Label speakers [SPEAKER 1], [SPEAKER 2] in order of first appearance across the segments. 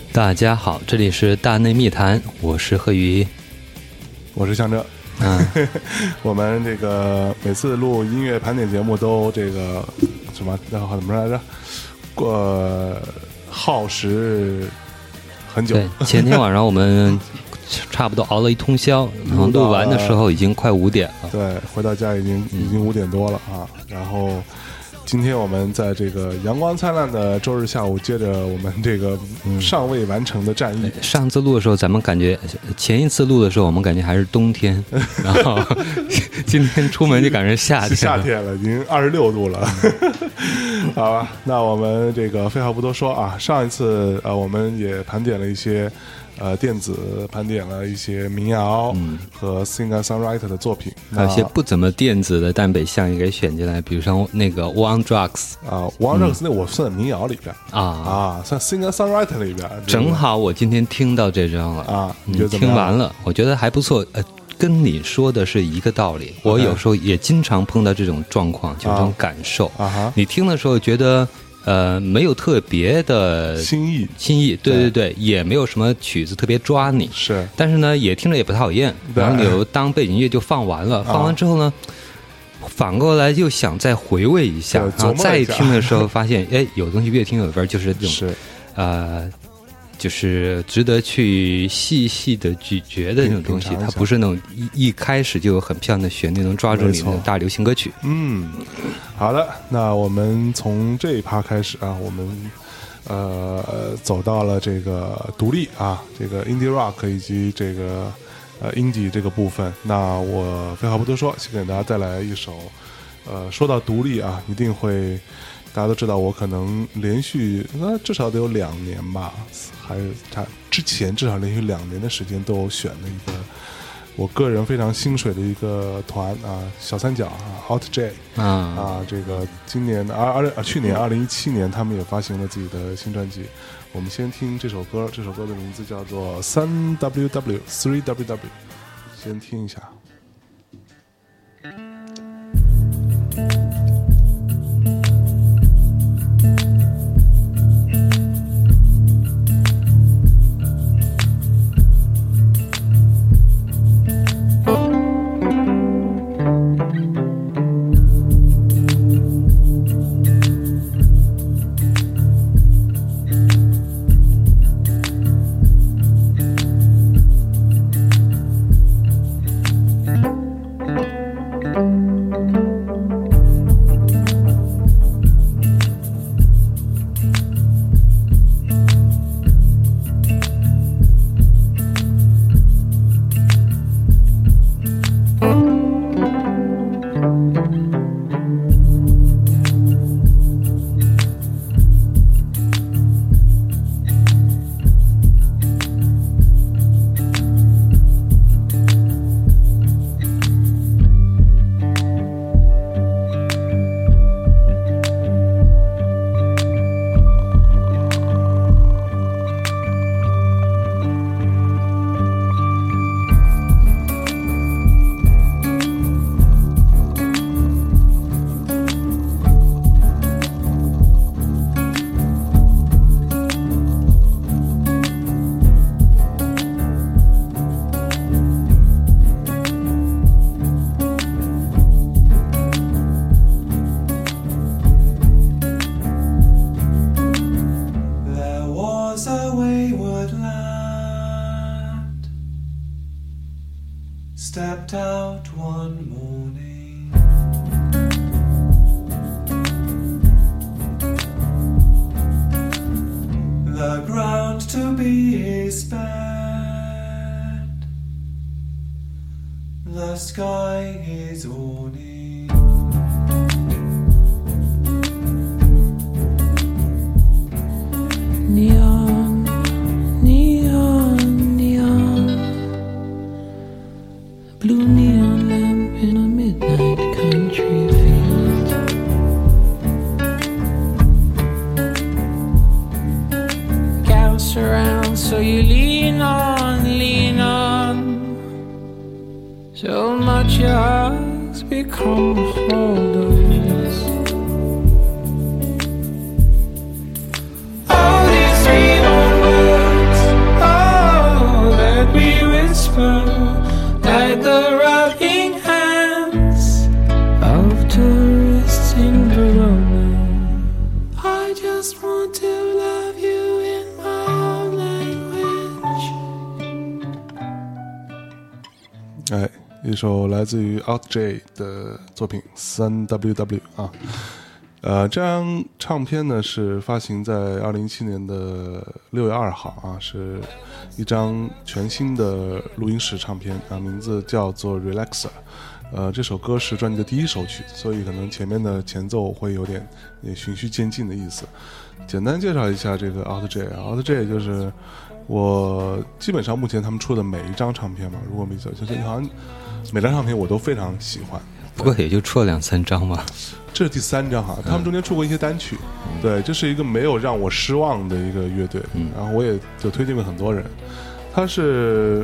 [SPEAKER 1] 大家好，这里是大内密谈，我是贺宇，
[SPEAKER 2] 我是向哲。我们这个每次录音乐盘点节目都这个什么怎么来着？耗时很久。
[SPEAKER 1] 对，前天晚上我们差不多熬了一通宵，然后录完的时候已经快5点了。
[SPEAKER 2] 对，回到家已经5点多了啊。然后今天我们在这个阳光灿烂的周日下午，接着我们这个尚未完成的战役。
[SPEAKER 1] 上次录的时候，咱们感觉前一次录的时候，我们感觉还是冬天，然后今天出门就感觉夏
[SPEAKER 2] 天了，已经26度了。好吧，那我们这个废话不多说啊，上一次我们也盘点了一些电子，盘点了一些民谣和 singer songwriter 的作品，
[SPEAKER 1] 还有一些不怎么电子的，但被相也给选进来，比如说那个 One Drugs
[SPEAKER 2] 啊，One Drugs 那我算民谣里边算 singer songwriter 里边。
[SPEAKER 1] 正好我今天听到这张了
[SPEAKER 2] 啊，你觉得怎么样？
[SPEAKER 1] 听完了，我觉得还不错。跟你说的是一个道理，我有时候也经常碰到这种状况，就这种感受。你听的时候觉得没有特别的
[SPEAKER 2] 新
[SPEAKER 1] 意，对，也没有什么曲子特别抓你，
[SPEAKER 2] 是，但
[SPEAKER 1] 是呢也听着也不讨厌，然后你又当背景乐就放完了，放完之后呢，反过来又想再回味一下，然后再听的时候发现，哎，有东西越听有味，就是这种就是值得去细细的咀嚼的那种东西，它不是那种一开始就有很漂亮的旋律能抓住你的大流行歌曲。
[SPEAKER 2] 好的，那我们从这一趴开始啊，我们走到了这个独立啊，这个 indie rock 以及这个indie 这个部分。那我废话不多说，先给大家带来一首说到独立啊，一定会大家都知道，我可能连续至少得有2年吧，还有他之前至少连续2年的时间都有选的一个我个人非常心水的一个团啊，小三角啊 Alt J 这个今年去年2017年他们也发行了自己的新专辑。我们先听这首歌，这首歌的名字叫做 3WW 先听一下。
[SPEAKER 3] Stepped out one morning, the ground to be his bed, the sky his awning.
[SPEAKER 4] Neon, neon, neon, blue neon lamp in a midnight country field. Gas around, so you lean on, lean on. So much your eyes become a hold of this. All these reborn words just want to love you in my own language。
[SPEAKER 2] 哎，一首来自于 OutJ 的作品 3WW 啊。这张唱片呢是发行在2017年的6月2号啊，是一张全新的录音室唱片啊，名字叫做 Relaxer。这首歌是专辑的第一首曲，所以可能前面的前奏会有点循序渐进的意思。简单介绍一下这个 OutJ 就是我基本上目前他们出的每一张唱片嘛，如果没记错，就是好像每张唱片我都非常喜欢。
[SPEAKER 1] 不过也就出了2-3张嘛，
[SPEAKER 2] 这是第3张哈，他们中间出过一些单曲，对，这是一个没有让我失望的一个乐队，然后我也就推荐给很多人。它是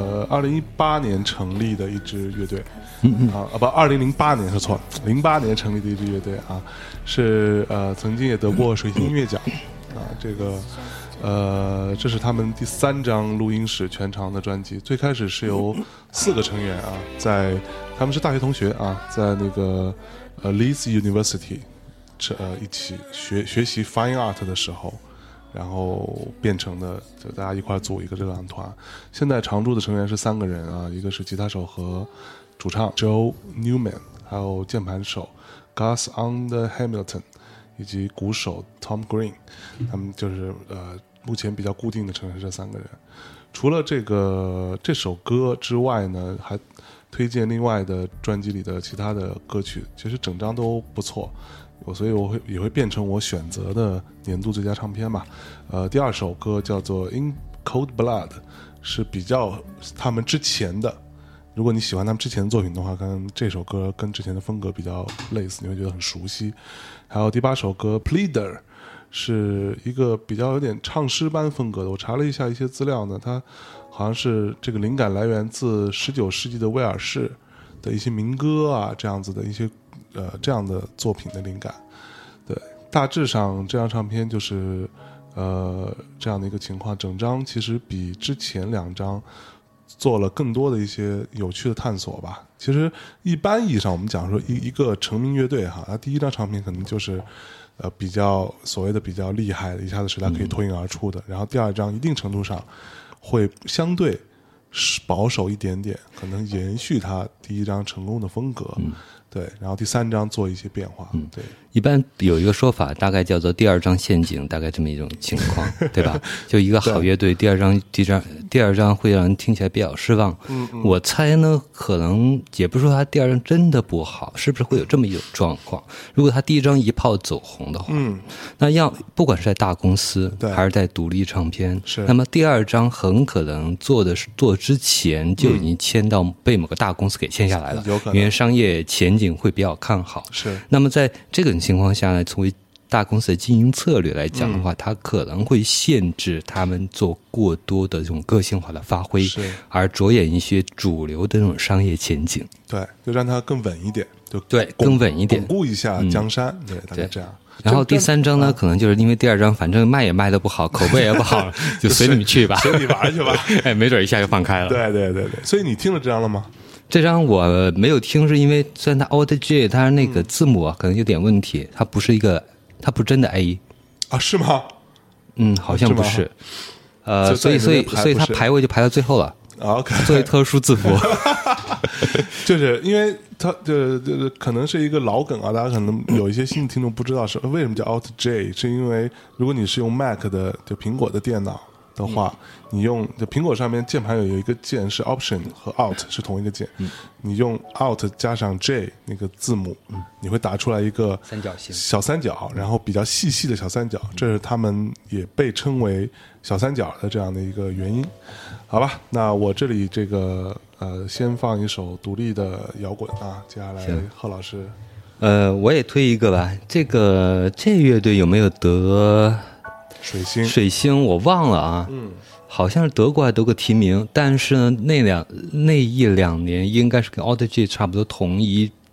[SPEAKER 2] 2018年成立的一支乐队，不，2008年是错了，08年成立的一支乐队啊，是曾经也得过水星音乐奖啊，这个这是他们第3张录音室全长的专辑。最开始是由4个成员啊，他们是大学同学啊，在那个Leeds University 一起学习 Fine Art 的时候，然后变成的，就大家一块组一个这个乐团。现在常驻的成员是3个人啊，一个是吉他手和主唱 Joe Newman， 还有键盘手 Gus Hamilton， 以及鼓手 Tom Green。他们就是目前比较固定的成员是这3个人。除了这首歌之外呢，还推荐另外的专辑里的其他的歌曲，其实整张都不错，所以也会变成我选择的年度最佳唱片吧。第2首歌叫做 In Cold Blood， 是比较他们之前的，如果你喜欢他们之前的作品的话，跟这首歌跟之前的风格比较类似，你会觉得很熟悉。还有第8首歌 Pleader， 是一个比较有点唱诗般风格的，我查了一下一些资料呢，它好像是这个灵感来源自19世纪的威尔士的一些民歌啊，这样子的一些这样的作品的灵感。对，大致上这张唱片就是这样的一个情况。整张其实比之前2张做了更多的一些有趣的探索吧。其实一般意义上我们讲说一个成名乐队哈，它第1张唱片可能就是比较所谓的比较厉害的，一下子使它可以脱颖而出的，然后第2张一定程度上会相对保守一点点，可能延续它第1张成功的风格，对，然后第3章做一些变化，对。
[SPEAKER 1] 一般有一个说法，大概叫做第2章陷阱，大概这么一种情况，对吧？就一个好乐队，第二章会让人听起来比较失望。我猜呢，可能也不是说他第2章真的不好，是不是会有这么一种状况？如果他第1章一炮走红的话，那不管是在大公司还是在独立唱片，那么第2章很可能做之前就已经签到被某个大公司给签下来了，因为商业前景会比较看好。
[SPEAKER 2] 是。
[SPEAKER 1] 那么在这个情况下呢，作为大公司的经营策略来讲的话，它可能会限制他们做过多的这种个性化的发挥，而着眼一些主流的这种商业前景。
[SPEAKER 2] 对，就让它更稳一点，就
[SPEAKER 1] 对更稳一点，
[SPEAKER 2] 巩固一下江山。对，大概这样。
[SPEAKER 1] 然后第3章呢，可能就是因为第2章反正卖也卖得不好，口碑也不好，就随你们去吧，
[SPEAKER 2] 随你玩去吧。
[SPEAKER 1] 哎，没准一下就放开了。
[SPEAKER 2] 对。所以你听了这张了吗？
[SPEAKER 1] 这张我没有听，是因为虽然它 OutJ 它那个字母可能有点问题，它不是真的 A
[SPEAKER 2] 啊？是吗？
[SPEAKER 1] 好像不是。所以它排位就排到最后了。
[SPEAKER 2] OK，
[SPEAKER 1] 作为特殊字符。
[SPEAKER 2] 就是因为它可能是一个老梗啊，大家可能有一些新的听众不知道是为什么叫 OutJ， 是因为如果你是用 Mac 的就苹果的电脑的话，你用就苹果上面键盘有一个键是 Option 和 Alt 是同一个键，你用 Alt 加上 J 那个字母，你会打出来一个
[SPEAKER 1] 三角形
[SPEAKER 2] 小三角，然后比较细的小三角，这是他们也被称为小三角的这样的一个原因。好吧，那我这里这个先放一首独立的摇滚啊，接下来贺老师，
[SPEAKER 1] 我也推一个吧。这乐队有没有得水星我忘了啊，好像是得过还得过提名，但是呢那1-2年应该是跟 OutJ 差不多同一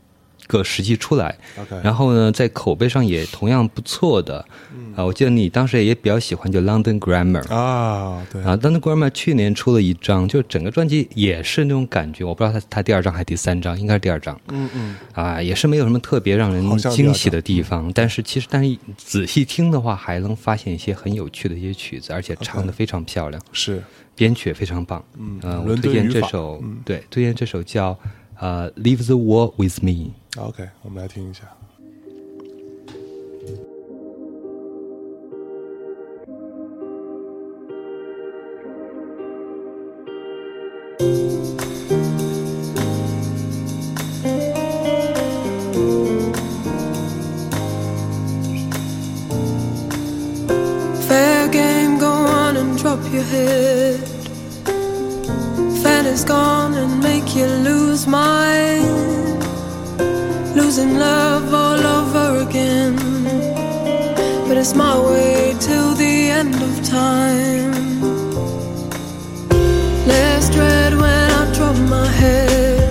[SPEAKER 1] 个时期出来。
[SPEAKER 2] OK
[SPEAKER 1] 然后呢，在口碑上也同样不错的。我记得你当时也比较喜欢就 London Grammar
[SPEAKER 2] 啊，对
[SPEAKER 1] 啊 ，London Grammar 去年出了一张，就整个专辑也是那种感觉，我不知道他第二张还是第三张，应该是第二张。也是没有什么特别让人惊喜的地方，但是仔细听的话，还能发现一些很有趣的一些曲子，而且唱得非常漂亮，
[SPEAKER 2] 是
[SPEAKER 1] 编曲也非常棒。我推荐这首，对，推荐这首叫Leave the War with Me。OK，
[SPEAKER 2] 我们来听一下。
[SPEAKER 5] Fair game, go on and drop your head. Fan is gone and make you lose mind. Losing love all over again. But it's my way till the end of time. Less dread when I drop my head.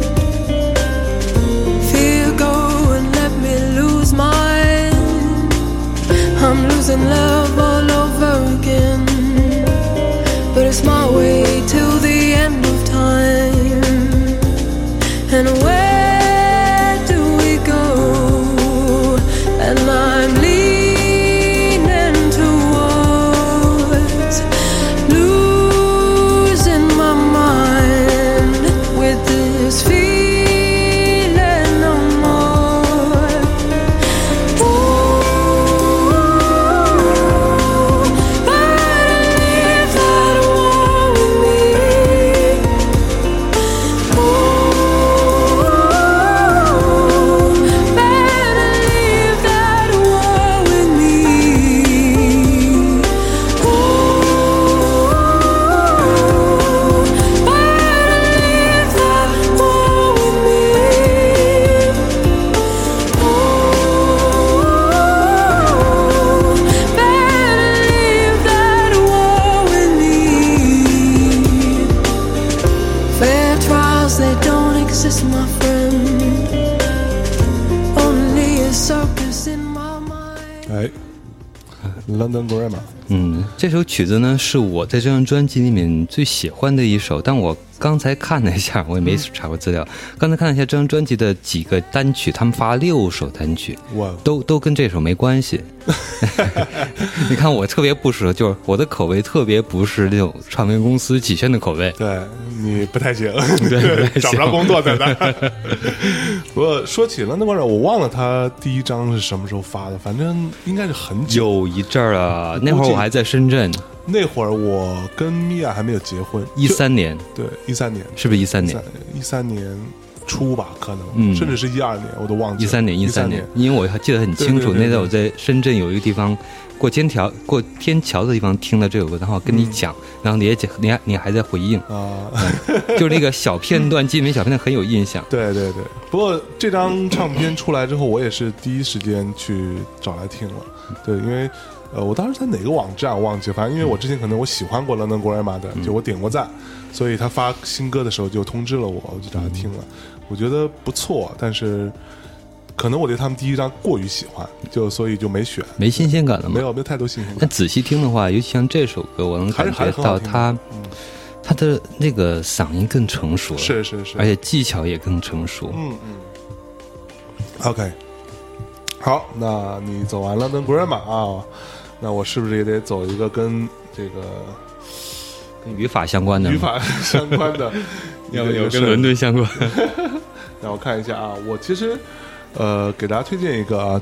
[SPEAKER 5] Fear go and let me lose mine. I'm losing love all over again. But it's my way till the end of time. And where do we go? And I'm leaning towards losing my mind with this feeling no more. Ooh, better leave that war with me. Ooh, better leave that war with me. Ooh, better leave that war with me. Ooh, better leave that war with me. Fair trials, they don't exist, my friend. Only a circus in my mind.
[SPEAKER 2] London Grammar。
[SPEAKER 1] 这首曲子呢是我在这张专辑里面最喜欢的一首，但我刚才看了一下，我也没查过资料，刚才看了一下这张专辑的几个单曲，他们发6首单曲，都跟这首没关系。你看我特别不适合，就是我的口味特别不是那种唱片公司几圈的口味，
[SPEAKER 2] 对你不太行，
[SPEAKER 1] 对
[SPEAKER 2] 找不着工作在那。不过说起London Grammar，我忘了他第一张是什么时候发的，反正应该是很久，
[SPEAKER 1] 有一阵儿了，那会儿我还在深圳。
[SPEAKER 2] 那会儿我跟米娅还没有结婚
[SPEAKER 1] ，13年，
[SPEAKER 2] 对，13年，
[SPEAKER 1] 是不是13年
[SPEAKER 2] ？13年初吧，可能，甚至是12年，我都忘记了。13年，
[SPEAKER 1] 因为我记得很清楚，
[SPEAKER 2] 对对对对，
[SPEAKER 1] 那在我在深圳有一个地方过天桥的地方听了这首歌，然后跟你讲，然后你还在回应啊，就是那个小片段，记忆小片段很有印象。
[SPEAKER 2] 对对对，不过这张唱片出来之后，我也是第一时间去找来听了，对，因为。我当时在哪个网站我忘记，反正因为我之前可能我喜欢过London Grammar的，就我点过赞，所以他发新歌的时候就通知了我，我就找他听了，我觉得不错，但是可能我对他们第一张过于喜欢，所以就没选，
[SPEAKER 1] 没新鲜感了吗？
[SPEAKER 2] 没有太多新鲜感。
[SPEAKER 1] 但仔细听的话，尤其像这首歌，我能感觉到他的那个嗓音更成熟了，
[SPEAKER 2] 是，
[SPEAKER 1] 而且技巧也更成熟。
[SPEAKER 2] OK， 好，那你走完London Grammar啊。那我是不是也得走一个跟这个
[SPEAKER 1] 跟语法相关的？
[SPEAKER 2] 语法相关的，
[SPEAKER 1] 有跟伦敦相关。
[SPEAKER 2] 让我看一下啊，我其实给大家推荐一个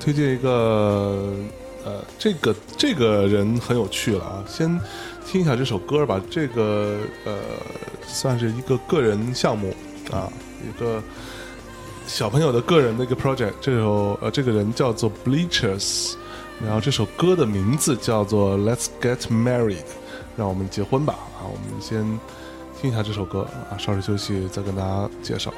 [SPEAKER 2] 这个人很有趣了啊，先听一下这首歌吧。这个算是一个个人项目啊，一个小朋友的个人的一个 project。这个人叫做 Bleachers。然后这首歌的名字叫做 Let's Get Married， 让我们结婚吧啊！我们先听一下这首歌啊，稍事休息再跟大家介绍。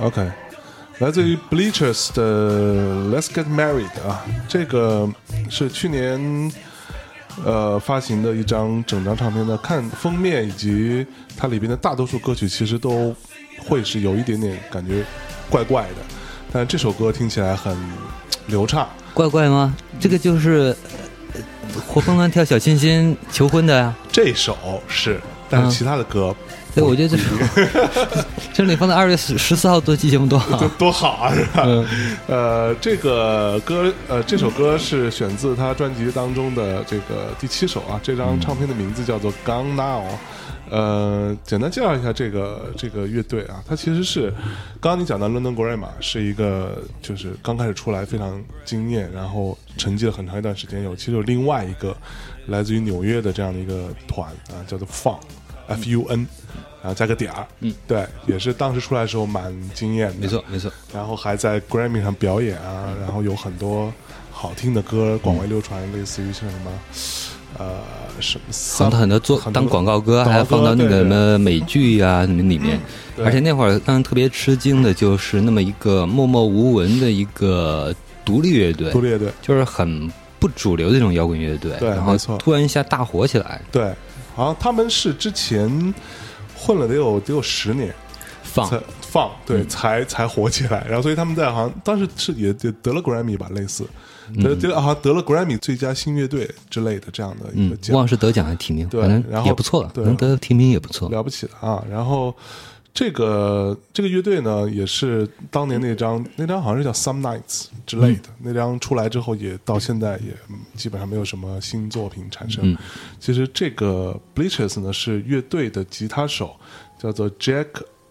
[SPEAKER 2] OK， 来自于 Bleachers 的 Let's Get Married 啊，这个是去年发行的一张整张唱片的，看封面以及它里边的大多数歌曲其实都会是有一点点感觉怪怪的，但这首歌听起来很流畅。
[SPEAKER 1] 怪怪吗？这个就是活蹦乱跳小清新求婚的呀。
[SPEAKER 2] 这首是，但是其他的歌
[SPEAKER 1] 对，我觉得这里放在2月14号做期节目多好，
[SPEAKER 2] 多好啊，是吧？这个歌，这首歌是选自他专辑当中的这个第7首啊。这张唱片的名字叫做《Gone Now》。简单介绍一下这个乐队啊，它其实是刚刚你讲的 London Grammar 是一个就是刚开始出来非常惊艳，然后沉寂了很长一段时间，其实有另外一个来自于纽约的这样的一个团啊，叫做 FUN。然后加个点儿，对，也是当时出来的时候蛮惊艳的，
[SPEAKER 1] 没错没错。
[SPEAKER 2] 然后还在 Grammy 上表演啊，然后有很多好听的歌广为流传，类似于像什么什么
[SPEAKER 1] 放到很多当广告歌，还放到那个什么美剧啊什么里面。而且那会儿让人特别吃惊的就是那么一个默默无闻的一个独立乐队，就是很不主流的这种摇滚乐队，
[SPEAKER 2] 对，
[SPEAKER 1] 然后突然一下大火起来。
[SPEAKER 2] 对，好像他们是之前混了得有10年，放对，才火起来。然后所以他们在好像当时是也得了 Grammy 吧，类似好像得了 Grammy 最佳新乐队之类的这样的一个奖，
[SPEAKER 1] 忘是得奖还提名，
[SPEAKER 2] 对，
[SPEAKER 1] 反正也不错了，能得提名也不错，
[SPEAKER 2] 了不起的啊。然后这个乐队呢，也是当年那张好像是叫 Some Nights 之类的，那张出来之后，也到现在也基本上没有什么新作品产生。其实这个 Bleachers 呢是乐队的吉他手叫做 Jack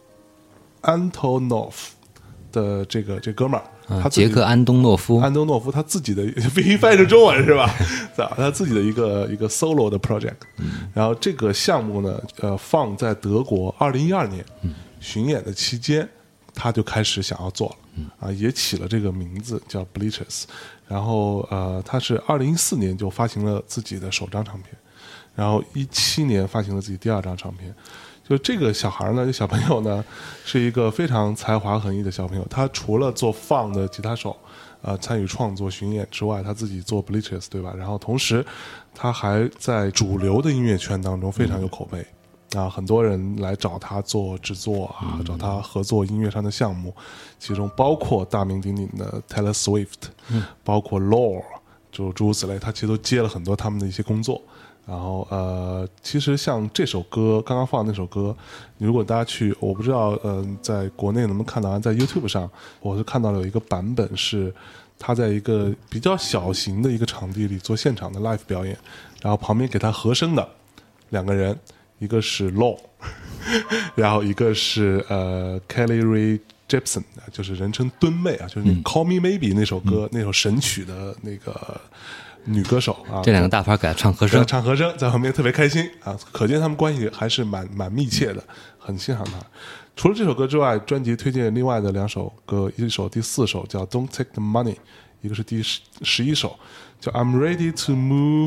[SPEAKER 2] Antonoff 的这哥们儿。
[SPEAKER 1] 杰克安东诺夫
[SPEAKER 2] 他自己的翻译成中文是吧？他自己的一个 solo 的 project。然后这个项目呢，放在德国2012年巡演的期间，他就开始想要做了，也起了这个名字叫 Bleachers。然后他是2014年就发行了自己的首张唱片，然后17年发行了自己第2张唱片。就这个小孩呢，这小朋友呢，是一个非常才华横溢的小朋友。他除了做放的吉他手，参与创作巡演之外，他自己做 Bleachers 对吧？然后同时，他还在主流的音乐圈当中非常有口碑啊，很多人来找他做制作啊，找他合作音乐上的项目，其中包括大名鼎鼎的 Taylor Swift，包括 Lorde， 就诸如此类，他其实都接了很多他们的一些工作。然后其实像这首歌刚刚放的那首歌，如果大家去，我不知道在国内能不能看到，在 YouTube 上我是看到了有一个版本是他在一个比较小型的一个场地里做现场的 live 表演，然后旁边给他和声的2个人，一个是 Law 然后一个是Kelly Rae Jepsen， 就是人称蹲妹啊，就是那 Call Me Maybe 那首歌，那首神曲的那个女歌手啊，
[SPEAKER 1] 这2个大牌给她唱和声，
[SPEAKER 2] 在旁边特别开心啊，可见他们关系还是蛮密切的，很欣赏她。除了这首歌之外，专辑推荐另外的2首歌，一首第4首叫 Don't Take the Money， 一个是第11首叫 I'm Ready to Move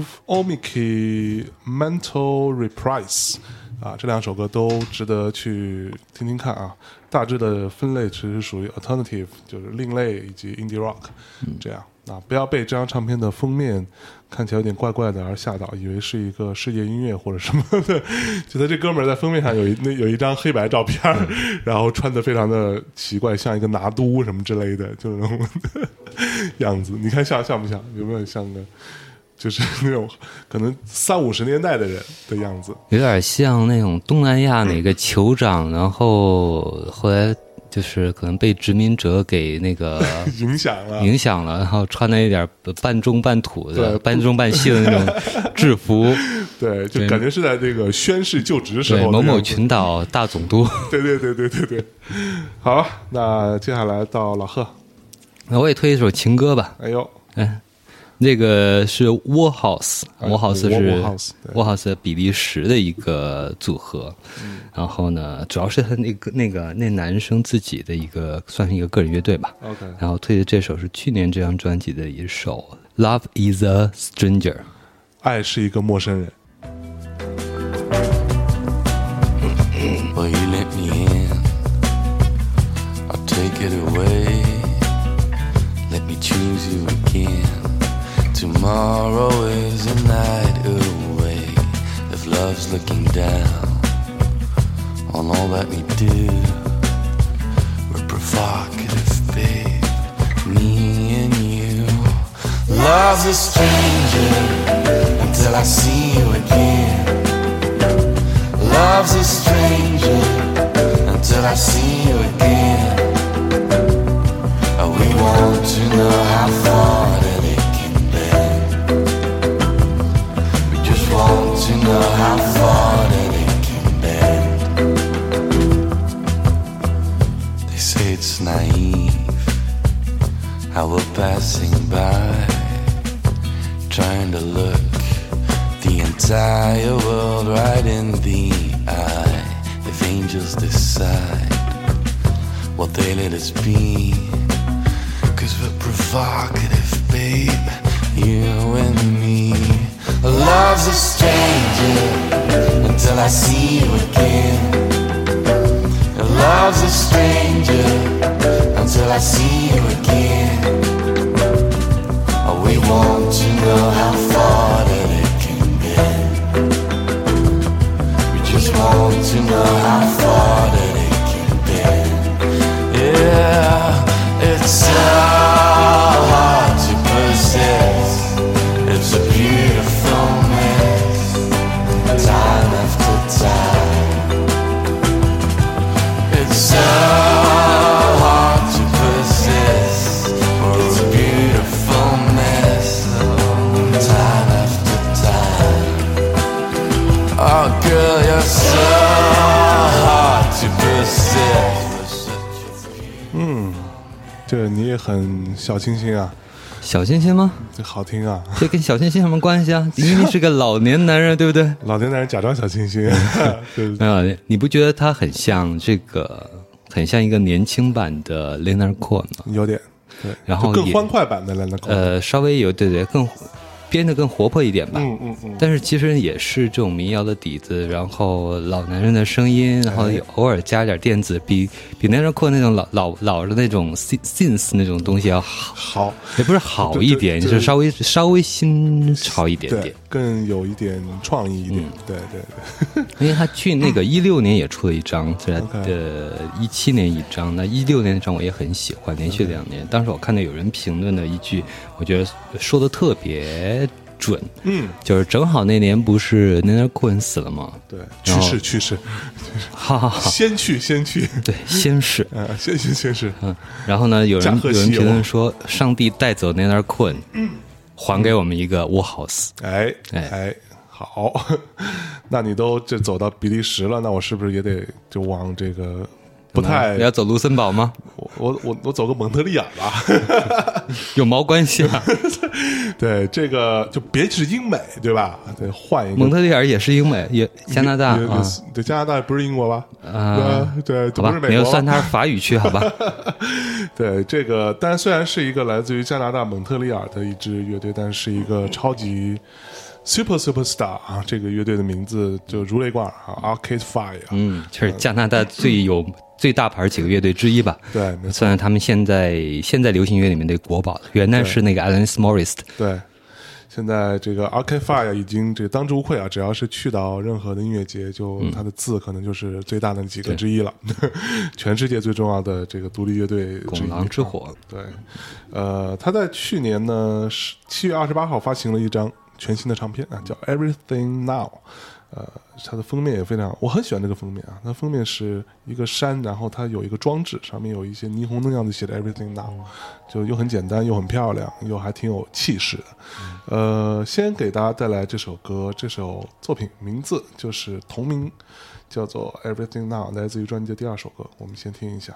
[SPEAKER 2] Omiki Mental Reprise。这2首歌都值得去听听看啊。大致的分类其实属于 alternative， 就是另类以及 indie rock，这样不要被这张唱片的封面看起来有点怪怪的而吓到，以为是一个世界音乐或者什么的。觉得这哥们儿在封面上有一张黑白照片，然后穿得非常的奇怪，像一个拿督什么之类的，就那种样子。你看像不像？有没有像个？就是那种可能30-50年代的人的样子，
[SPEAKER 1] 有点像那种东南亚哪个酋长，然后后来就是可能被殖民者给那个
[SPEAKER 2] 影响了，
[SPEAKER 1] 然后穿了一点半中半土的、半中半西的那种制服，
[SPEAKER 2] 对，就感觉是在这个宣誓就职时候，
[SPEAKER 1] 某某群岛大总督。
[SPEAKER 2] 对。好，那接下来到老贺，
[SPEAKER 1] 那我也推一首情歌吧。
[SPEAKER 2] 哎呦，
[SPEAKER 1] 那个是 Warhouse 是 Warhouse 比利时的一个组合，然后呢，主要是他那男生自己的一个算是一个个人乐队吧。
[SPEAKER 2] OK，
[SPEAKER 1] 然后推的这首是去年这张专辑的一首 Love is a Stranger，
[SPEAKER 2] 爱是一个陌生人。
[SPEAKER 6] Well, you let me in, I'll tell down on all that we do. We're provocative, babe, me and you. Love's a stranger until I see you again. Love's a stranger until I see you again. We want to know how far that it can bend. We just want to know how far that it can bend. They say it's naive how we're passing by, trying to look the entire world right in the eye. If angels decide what they let us be, 'cause we're provocative, babe, you and me. Love's a stranger until I see you again. Love's a stranger until I see you again. We want to know how far that it can bend. We just want to know how far that it can bend. Yeah, it's so hard to possess. It's a beautiful mess, time after time. It's so hard to possess, or it's a beautiful mess, time after time. Oh girl, you're so hard to possess.
[SPEAKER 2] 这你也很小清新啊，
[SPEAKER 1] 小清新吗？
[SPEAKER 2] 这好听啊。
[SPEAKER 1] 这跟小清新有什么关系啊？因为是个老年男人，对不对？
[SPEAKER 2] 老年男人假装小清新，对
[SPEAKER 1] 没有，你不觉得他很像这个，很像一个年轻版的 Leonard Cohen 吗？
[SPEAKER 2] 有点对，
[SPEAKER 1] 然后
[SPEAKER 2] 更欢快版的 Leonard Cohen，
[SPEAKER 1] 稍微有对更编得更活泼一点吧。但是其实也是这种民谣的底子，然后老男人的声音，然后偶尔加点电子，比Leonard Cohen那种老的那种 synth 那种东西要好，也不是好一点，就是稍微新潮一点点，
[SPEAKER 2] 更有一点创意一点。对。
[SPEAKER 1] 因为他去那个16年也出了一张，在17年一张，那16年那张我也很喜欢，连续2年。当时我看到有人评论了一句，我觉得说的特别准，就是正好那年不是Leonard Cohen死了吗？对，
[SPEAKER 2] 去世，
[SPEAKER 1] 好，
[SPEAKER 2] 先去，
[SPEAKER 1] 对，先逝，
[SPEAKER 2] 先逝，
[SPEAKER 1] 然后呢，有人评论说，上帝带走Leonard Cohen，还给我们一个 Warhouse，
[SPEAKER 2] 哎。好，那你都这走到比利时了，那我是不是也得就往这个不太？
[SPEAKER 1] 你要走卢森堡吗？
[SPEAKER 2] 我走个蒙特利尔吧，
[SPEAKER 1] 有毛关系啊？
[SPEAKER 2] 对，这个就别是英美，对吧？对，换一个。
[SPEAKER 1] 蒙特利尔也是英美，也加拿大啊。
[SPEAKER 2] 对，加拿大不是英国吧？对，
[SPEAKER 1] 好吧，
[SPEAKER 2] 不是美国，
[SPEAKER 1] 没有算它是法语区，好吧？
[SPEAKER 2] 对，这个，但虽然是一个来自于加拿大蒙特利尔的一支乐队，但是一个超级。Superstar 啊，这个乐队的名字就如雷贯耳啊 ，Arcade Fire，
[SPEAKER 1] 这是加拿大最大牌几个乐队之一吧？
[SPEAKER 2] 对，
[SPEAKER 1] 算是他们现在流行乐里面的国宝了。原来是那个 Alanis Morris，
[SPEAKER 2] 对，现在这个 Arcade Fire 已经这个当之无愧啊，只要是去到任何的音乐节，就它的字可能就是最大的几个之一了，全世界最重要的这个独立乐队
[SPEAKER 1] 拱狼之火。
[SPEAKER 2] 对，他在去年呢7月28号发行了一张全新的唱片啊，叫 Everything Now， 它的封面也非常，我很喜欢这个封面啊。它封面是一个山，然后它有一个装置，上面有一些霓虹灯样子写的 Everything Now， 就又很简单，又很漂亮，又还挺有气势的。先给大家带来这首歌，这首作品名字就是同名，叫做 Everything Now， 来自于专辑的第2首歌，我们先听一下。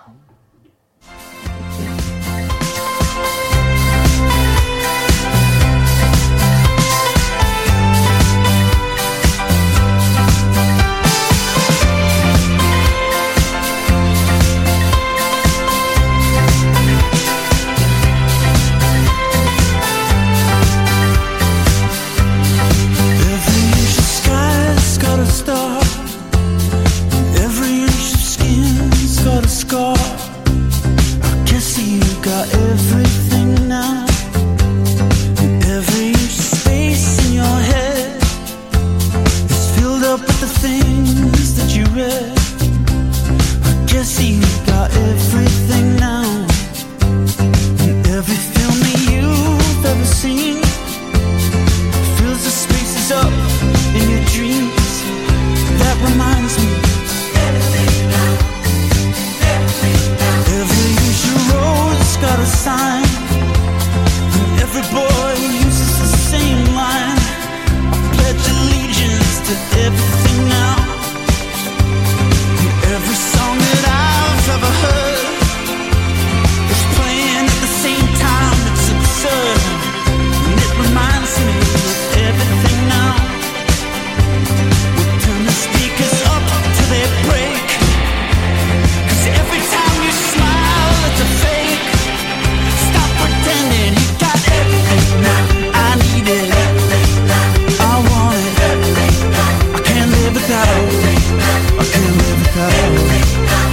[SPEAKER 3] Every inch of skin's got a scar.
[SPEAKER 7] cigarette. I guess you got everything now. And every film that you've ever seen fills the spaces up in your dreams. That reminds me. Every usual road's got a sign, and every boy uses the same line. I pledge allegiance to everything now. And every song that I've ever heard is playing at the same time. It's absurd, and it reminds me of everything now. We'll turn the speakers up till they break, 'cause every time you smile it's a fake. Stop pretending you got everything now. I need it, I want it, I can't live without it, I can't live without it.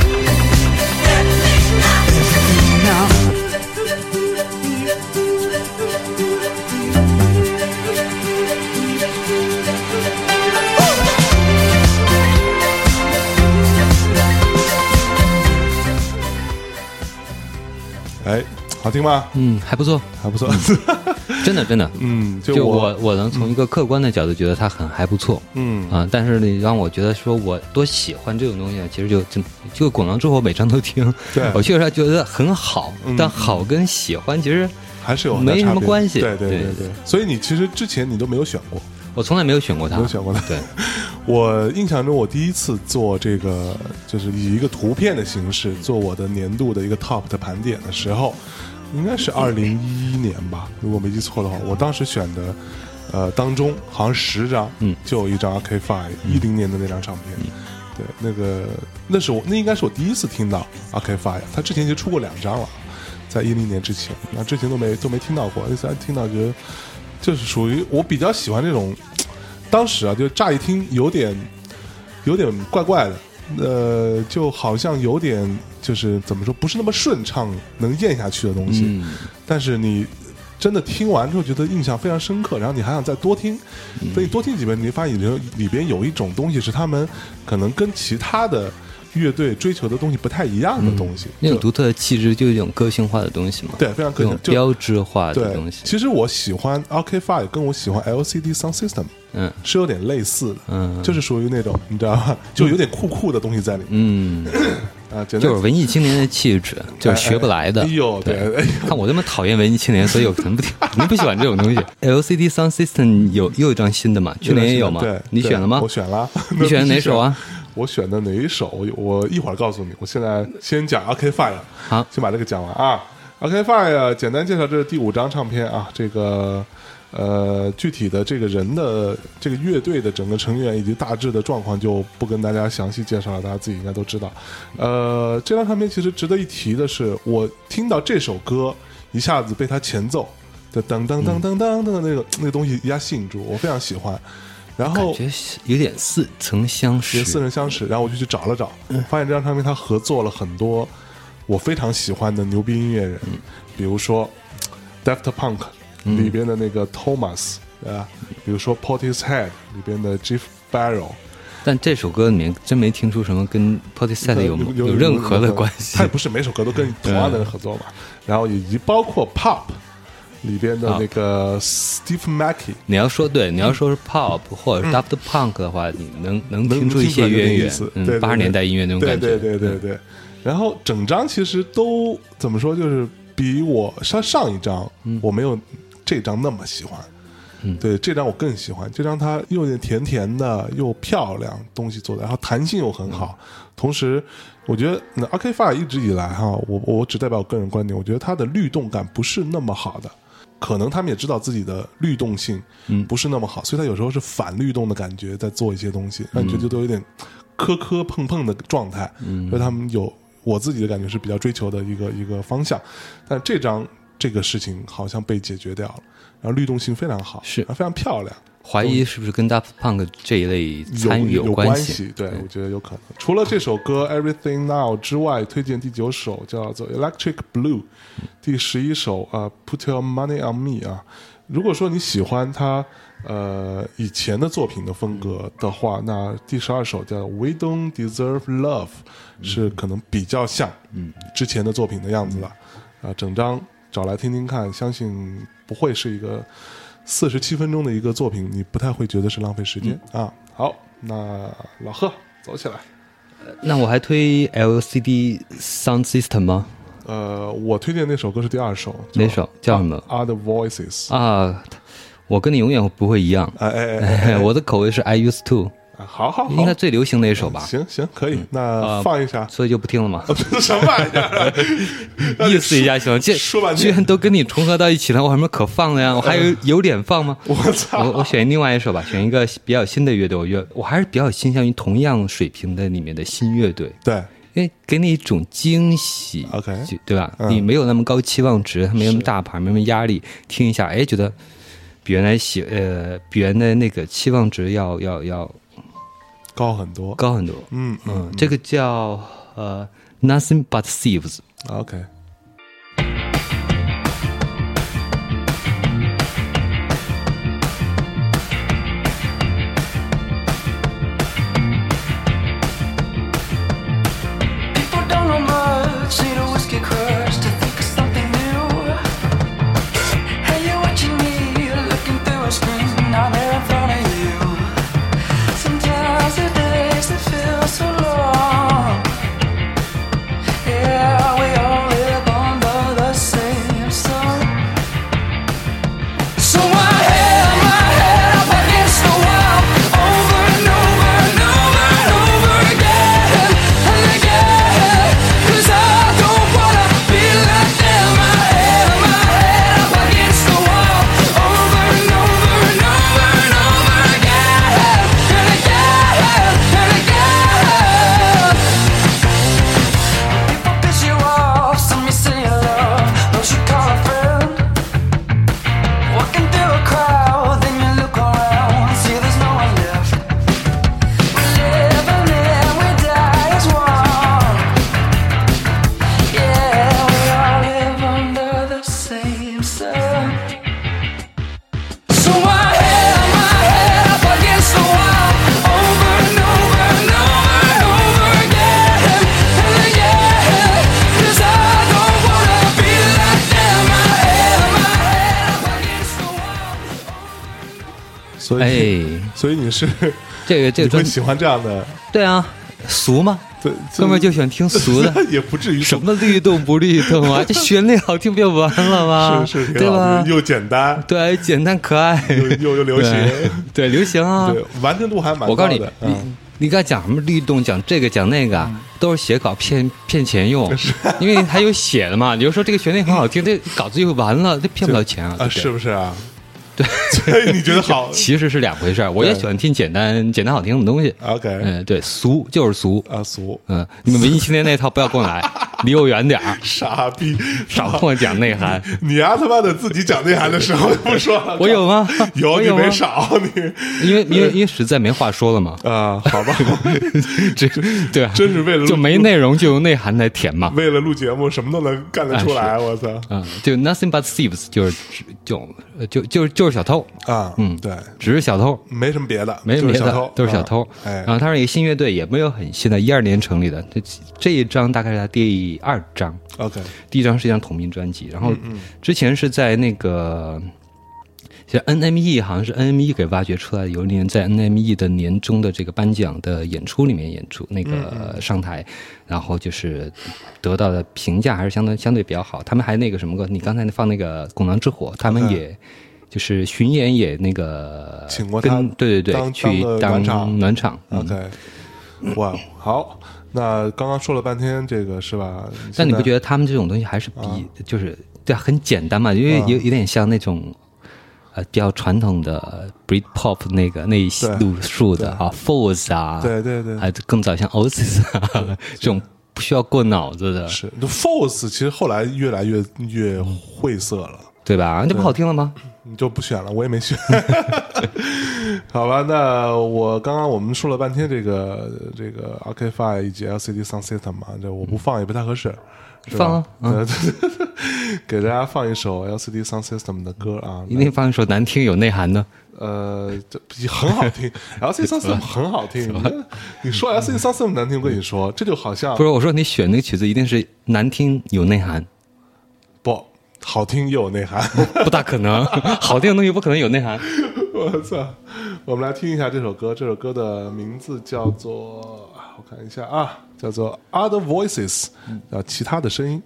[SPEAKER 7] Everything now.
[SPEAKER 2] 哎，好听吗？
[SPEAKER 1] 还不错，
[SPEAKER 2] 还不错。
[SPEAKER 1] 真的真的，就我能从一个客观的角度觉得它还不错，但是你让我觉得说我多喜欢这种东西，其实就滚狼之后每张都听，
[SPEAKER 2] 对
[SPEAKER 1] 我确实觉得很好，但好跟喜欢其实
[SPEAKER 2] 还是有
[SPEAKER 1] 没什么关系，
[SPEAKER 2] 对。所以你其实之前你都没有选过，
[SPEAKER 1] 我从来没有选过它，
[SPEAKER 2] 没有选过它。对，我印象中我第一次做这个，就是以一个图片的形式做我的年度的一个 top 的盘点的时候，应该是2011年吧，如果没记错的话。我当时选的，当中好像10张，就有一张 Arcade-Fire 10年的那张唱片。对，那应该是我第一次听到 Arcade-Fire， 他之前就出过2张了，在2010年之前，那之前都没听到过。那次听到觉得就是属于我比较喜欢这种，当时啊，就乍一听有点怪怪的，就好像有点就是怎么说，不是那么顺畅能咽下去的东西，但是你真的听完之后觉得印象非常深刻，然后你还想再多听，所以你多听几遍，你发现里边有一种东西是他们可能跟其他的乐队追求的东西不太一样的东西，
[SPEAKER 1] 那种独特的气质就是一种个性化的东西嘛，
[SPEAKER 2] 对，非常个性，
[SPEAKER 1] 标志化的东西。
[SPEAKER 2] 其实我喜欢 Arcade-Fire 跟我喜欢 LCD Sound System 是有点类似的，就是属于那种你知道吧，就有点酷的东西在里面，
[SPEAKER 1] 就是文艺青年的气质，就是学不来的。
[SPEAKER 2] 哎呦，对，
[SPEAKER 1] 看我这么讨厌文艺青年，所以我肯定不喜欢这种东西。LCD Sound System 又一张新的嘛，去年也有嘛，
[SPEAKER 2] 对，
[SPEAKER 1] 你选了吗？
[SPEAKER 2] 我选了。
[SPEAKER 1] 你选的哪首啊？
[SPEAKER 2] 我选的哪一首？我一会儿告诉你。我现在先讲 Arcade-Fire， 好，先把这个讲完啊。Arcade-Fire 简单介绍，这是第5张唱片啊。这个具体的这个人的这个乐队的整个成员以及大致的状况就不跟大家详细介绍了，大家自己应该都知道。这张唱片其实值得一提的是，我听到这首歌一下子被它前奏的噔噔噔噔噔的那个东西一下吸引住，我非常喜欢。然后
[SPEAKER 1] 感觉有点似曾相识，
[SPEAKER 2] 然后我就去找了找，发现这张唱片他合作了很多我非常喜欢的牛逼音乐人，比如说 Daft Punk 里边的那个 Thomas，比如说 Portishead 里边的 Jeff Barrow。
[SPEAKER 1] 但这首歌里面真没听出什么跟 Portishead 有任何的关系。
[SPEAKER 2] 他也不是每首歌都跟同样的人合作嘛。然后以及包括 Pop里边的那个 Steve Mackey，
[SPEAKER 1] 你要说是 Pop 或者 Daft Punk 的话，你能听出一些渊源，80年代音乐那种感觉。
[SPEAKER 2] 对。然后整张其实都怎么说，就是比我上一张我没有这张那么喜欢。对，这张我更喜欢。这张它又有点甜甜的，又漂亮，东西做的，然后弹性又很好。同时，我觉得那 Arcade-Fire 一直以来哈，我只代表我个人观点，我觉得它的律动感不是那么好的。可能他们也知道自己的律动性不是那么好，所以他有时候是反律动的感觉在做一些东西，让你觉得都有点磕碰的状态。所以他们有我自己的感觉是比较追求的一个方向。但这张这个事情好像被解决掉了，然后律动性非常好，
[SPEAKER 1] 是
[SPEAKER 2] 非常漂亮。
[SPEAKER 1] 怀疑是不是跟 Daft Punk 这一类参与
[SPEAKER 2] 有
[SPEAKER 1] 关
[SPEAKER 2] 系？对，我觉得有可能。除了这首歌 Everything Now 之外，推荐第9首叫做 Electric Blue， 第11首Put Your Money on Me 啊。如果说你喜欢他以前的作品的风格的话，那第12首叫 We Don't Deserve Love 是可能比较像之前的作品的样子了。整张找来听听看，相信不会是一个47分钟的一个作品，你不太会觉得是浪费时间啊。好，那老贺走起来。
[SPEAKER 1] 那我还推 LCD Sound System 吗？
[SPEAKER 2] 我推荐那首歌是第2首，
[SPEAKER 1] 哪首叫什么
[SPEAKER 2] ？Other Voices
[SPEAKER 1] 啊，我跟你永远不会一样。我的口味是 I Used To。
[SPEAKER 2] 好，
[SPEAKER 1] 应该最流行的一首吧。
[SPEAKER 2] 行，可以，那放一下，
[SPEAKER 1] 所以就不听了嘛。
[SPEAKER 2] 什么玩意儿？
[SPEAKER 1] 意思一下行，
[SPEAKER 2] 说半天
[SPEAKER 1] 居然都跟你重合到一起了，我还没可放的呀？我还有脸放吗？
[SPEAKER 2] 我操！
[SPEAKER 1] 我选另外一首吧，选一个比较新的乐队。我还是比较倾向于同样水平的里面的新乐队。
[SPEAKER 2] 对。
[SPEAKER 1] 因为给你一种惊喜
[SPEAKER 2] ，OK，
[SPEAKER 1] 对吧？你没有那么高期望值，没那么大牌，没那么压力，听一下，觉得比原来比原来那个期望值要
[SPEAKER 2] 高很多，
[SPEAKER 1] 这个叫Nothing But Thieves。OK。
[SPEAKER 2] 所以你是
[SPEAKER 1] 这个
[SPEAKER 2] 你会喜欢这样的？
[SPEAKER 1] 对啊，俗吗？
[SPEAKER 2] 对，
[SPEAKER 1] 哥们儿就喜欢听俗的，
[SPEAKER 2] 也不至于
[SPEAKER 1] 什么律动不律动啊，这旋律好听不就完了吗？
[SPEAKER 2] 是，
[SPEAKER 1] 对吧？
[SPEAKER 2] 又简单，
[SPEAKER 1] 对，简单可爱，
[SPEAKER 2] 又流行，
[SPEAKER 1] 对，流行啊，
[SPEAKER 2] 对，完成度还蛮高的。
[SPEAKER 1] 我告诉你，你刚才讲什么律动，讲这个讲那个，都是写稿骗钱用，因为还有写的嘛。比如说这个旋律很好听，这稿子就完了，这骗不了钱啊，
[SPEAKER 2] 是不是啊？
[SPEAKER 1] 对，
[SPEAKER 2] 所以你觉得好？
[SPEAKER 1] 其实是两回事儿。我也喜欢听简单好听的东西。
[SPEAKER 2] OK，
[SPEAKER 1] 对，俗就是俗
[SPEAKER 2] 啊，俗。
[SPEAKER 1] 你们文艺青年那套不要跟我来，离我远点儿。
[SPEAKER 2] 傻逼，
[SPEAKER 1] 少跟我讲内涵。
[SPEAKER 2] 你他妈的自己讲内涵的时候不说了？
[SPEAKER 1] 我有吗？
[SPEAKER 2] 有，你没少你。
[SPEAKER 1] 因为实在没话说了嘛。
[SPEAKER 2] 好吧，
[SPEAKER 1] 对啊，
[SPEAKER 2] 真是为了
[SPEAKER 1] 就没内容就用内涵来填嘛。
[SPEAKER 2] 为了录节目，什么都能干得出来，我操！
[SPEAKER 1] 就 nothing but thieves， 就是小偷
[SPEAKER 2] 啊，对，
[SPEAKER 1] 只是小偷，
[SPEAKER 2] 没什么别的，
[SPEAKER 1] 没什么别的，都是小偷。然后他是一个新乐队，也没有很新的，12年成立的。这一张大概是他第2张
[SPEAKER 2] ，OK，
[SPEAKER 1] 第一张是一张同名专辑，然后之前是在那个。其实 NME 好像是 NME 给挖掘出来的，有一年在 NME 的年终的这个颁奖的演出里面演出，那个上台，然后就是得到的评价还是相对比较好。他们还那个什么歌，你刚才放那个《拱廊之火》，他们也就是巡演也那个
[SPEAKER 2] 请过他，
[SPEAKER 1] 对，去当暖场。
[SPEAKER 2] OK， 哇，好，那刚刚说了半天这个是吧？
[SPEAKER 1] 但你不觉得他们这种东西还是就是对很简单嘛？因为有点像那种。比较传统的 Britpop 那一路数的Falls 啊，
[SPEAKER 2] 对，
[SPEAKER 1] 还更早像 Oasis 啊这种不需要过脑子的。
[SPEAKER 2] 是 Falls 其实后来越来越晦涩了，
[SPEAKER 1] 对吧？这不好听了吗？
[SPEAKER 2] 你就不选了，我也没选。 好吧，那我们说了半天这个 Arcade Fire 以及 LCD Sound System 嘛，这我不放也不太合适，是吧？
[SPEAKER 1] 放啊，
[SPEAKER 2] 给大家放一首 LCD Sound System 的歌啊，
[SPEAKER 1] 一定放一首难听有内涵的。
[SPEAKER 2] 这很好听，LCD Sound System 很好听。你说 LCD Sound System 难听，我跟你说，这就好像
[SPEAKER 1] 不是我说你选那个曲子一定是难听有内涵，
[SPEAKER 2] 不好听又有内涵，
[SPEAKER 1] 不大可能，好听的东西不可能有内涵。
[SPEAKER 2] 我操！我们来听一下这首歌，这首歌的名字叫做，我看一下啊，叫做 Other Voices， 其他的声音。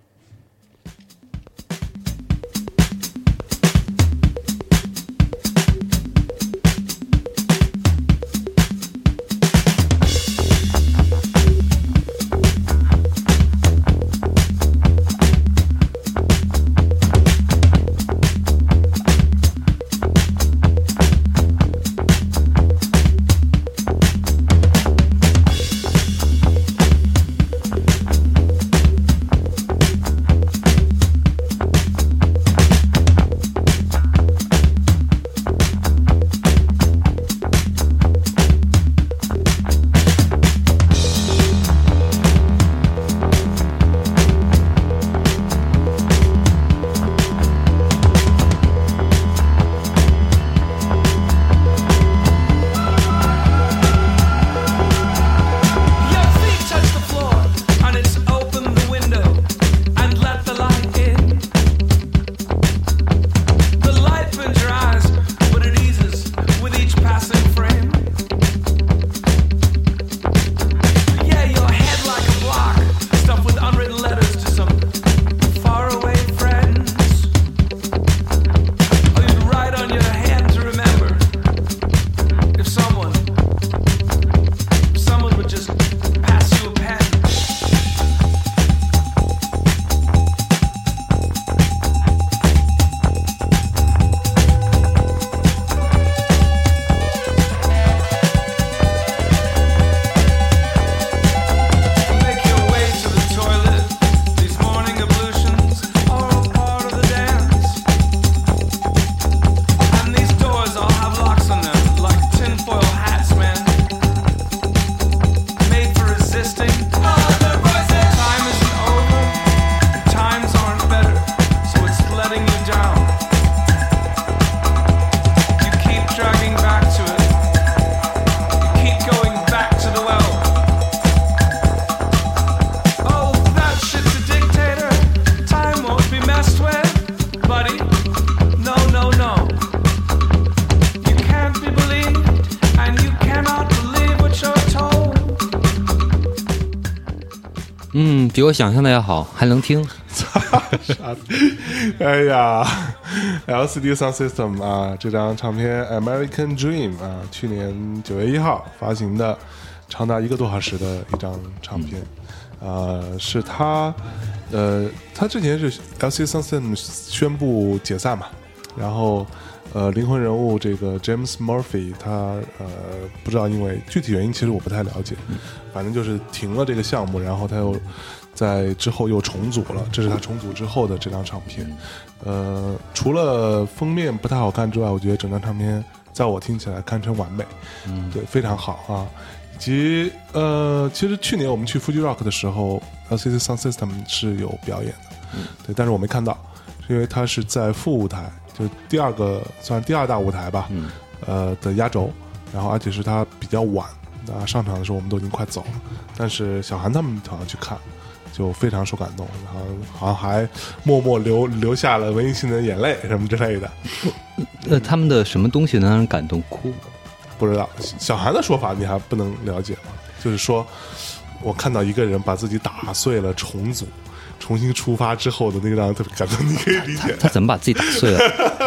[SPEAKER 1] 比我想象的要好，还能听。
[SPEAKER 2] 哎呀 ，LCD Sound System 啊，这张唱片 American Dream 啊，去年9月1号发行的，长达1个多小时的一张唱片。是他之前是 LCD Sound System 宣布解散嘛，然后灵魂人物这个 James Murphy 他不知道因为具体原因其实我不太了解，反正就是停了这个项目，然后他又在之后又重组了，这是他重组之后的这张唱片。除了封面不太好看之外，我觉得整张唱片在我听起来堪称完美，对，非常好啊。以及其实去年我们去 Fuji Rock 的时候 LCD Sound System 是有表演的，对，但是我没看到，是因为它是在副舞台，就第二大舞台吧，的压轴，然后而且是它比较晚，上场的时候我们都已经快走了，但是小韩他们好像去看，就非常受感动，然后好像还默默流下了温馨的眼泪什么之类的。
[SPEAKER 1] 他们的什么东西能让人感动哭？
[SPEAKER 2] 不知道，小韩的说法你还不能了解吗？就是说我看到一个人把自己打碎了重组重新出发之后的那个让人特别感动，你可以理解。
[SPEAKER 1] 他怎么把自己打碎了？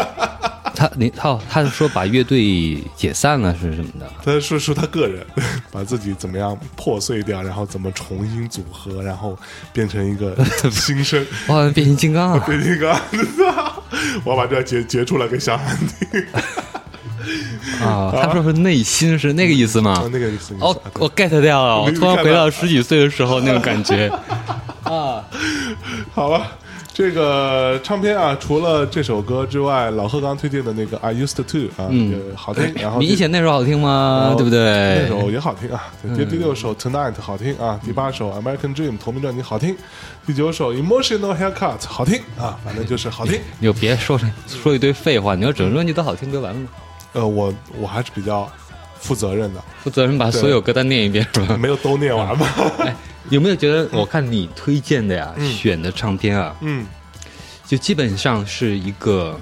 [SPEAKER 1] 他是说把乐队解散了是什么的？
[SPEAKER 2] 他说他个人把自己怎么样破碎掉，然后怎么重新组合，然后变成一个新生。
[SPEAKER 1] 哇，变形金刚啊！
[SPEAKER 2] 变形金刚，我把这截出来给小韩听。
[SPEAKER 1] 啊，他说是内心是那个意思吗？
[SPEAKER 2] 那个意思。
[SPEAKER 1] 哦，我 get 掉了，我突然回到10几岁的时候那种感觉。啊，
[SPEAKER 2] 好吧。 这个唱片啊，除了这首歌之外，老贺刚推荐的那个 I Used To 啊，也好听。然后
[SPEAKER 1] 明显那首好听吗？对不对？
[SPEAKER 2] 那首也好听啊。第6首 Tonight 好听啊，第8首 American Dream 同名专辑好听，第9首 Emotional Haircut 好听啊，反正就是好听。
[SPEAKER 1] 你就别说一堆废话，你要整个专辑都好听就完了吗？
[SPEAKER 2] 我还是比较负责任的，
[SPEAKER 1] 负责任把所有歌单念一遍是吧？
[SPEAKER 2] 没有都念完吧？
[SPEAKER 1] 有没有觉得我看你推荐的呀，选的唱片啊，就基本上是一个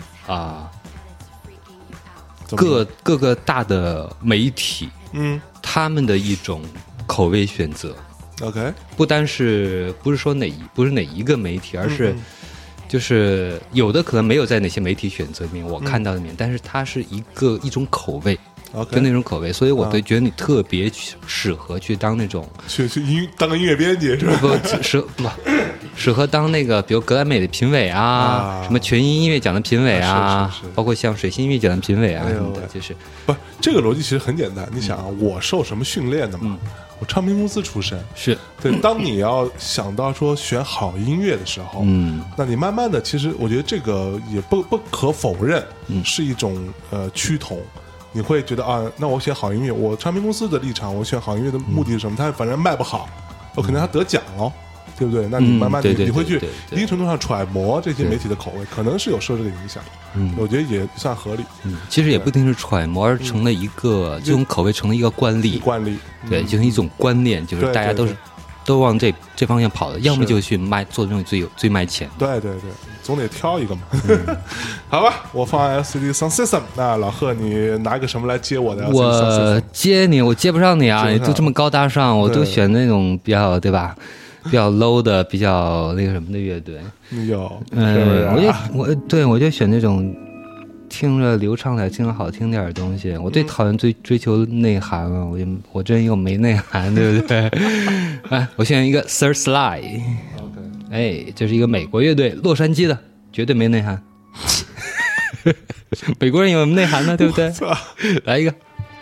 [SPEAKER 1] 各个大的媒体，他们的一种口味选择。
[SPEAKER 2] OK，
[SPEAKER 1] 不是说不是哪一个媒体，而是就是有的可能没有在哪些媒体选择里面我看到的里面，但是它是一种口味。就那种口味，所以我觉得你特别适合去当那种
[SPEAKER 2] 当个音乐编辑是吧？
[SPEAKER 1] 适合当那个比如格莱美的评委啊，什么全英音乐奖的评委啊，包括像水星音乐奖的评委啊什么的，就是
[SPEAKER 2] 不这个逻辑其实很简单。你想啊，我受什么训练的嘛？我唱片公司出身，
[SPEAKER 1] 是
[SPEAKER 2] 对。当你要想到说选好音乐的时候，那你慢慢的，其实我觉得这个也不可否认，是一种趋同。你会觉得啊，那我选好音乐，我唱片公司的立场，我选好音乐的目的是什么？他反正卖不好，我可能他得奖了，对不对？那你慢慢你会去一定程度上揣摩这些媒体的口味，可能是有受这个影响。我觉得也算合理。
[SPEAKER 1] 其实也不一定是揣摩，而成了一个这种口味成了一个惯例，对，就是一种观念，就是大家都往这方向跑的，要么就去做这种最卖钱。
[SPEAKER 2] 对，总得挑一个嘛。好吧，我放 LCD Sound System。那老贺，你拿个什么来接我的 LCD Sound System？
[SPEAKER 1] 我接你，我接不上你啊！你都这么高大上，我都选那种比较对吧？比较 low 的，比较那个什么的乐队。我就选那种听着流畅点、听着好听点的东西。我最讨厌追求内涵了，我真又没内涵，对不对？哎，我选一个 Third Slide。哎，这是一个美国乐队，洛杉矶的，绝对没内涵。美国人有什么内涵呢？对不对？来一个。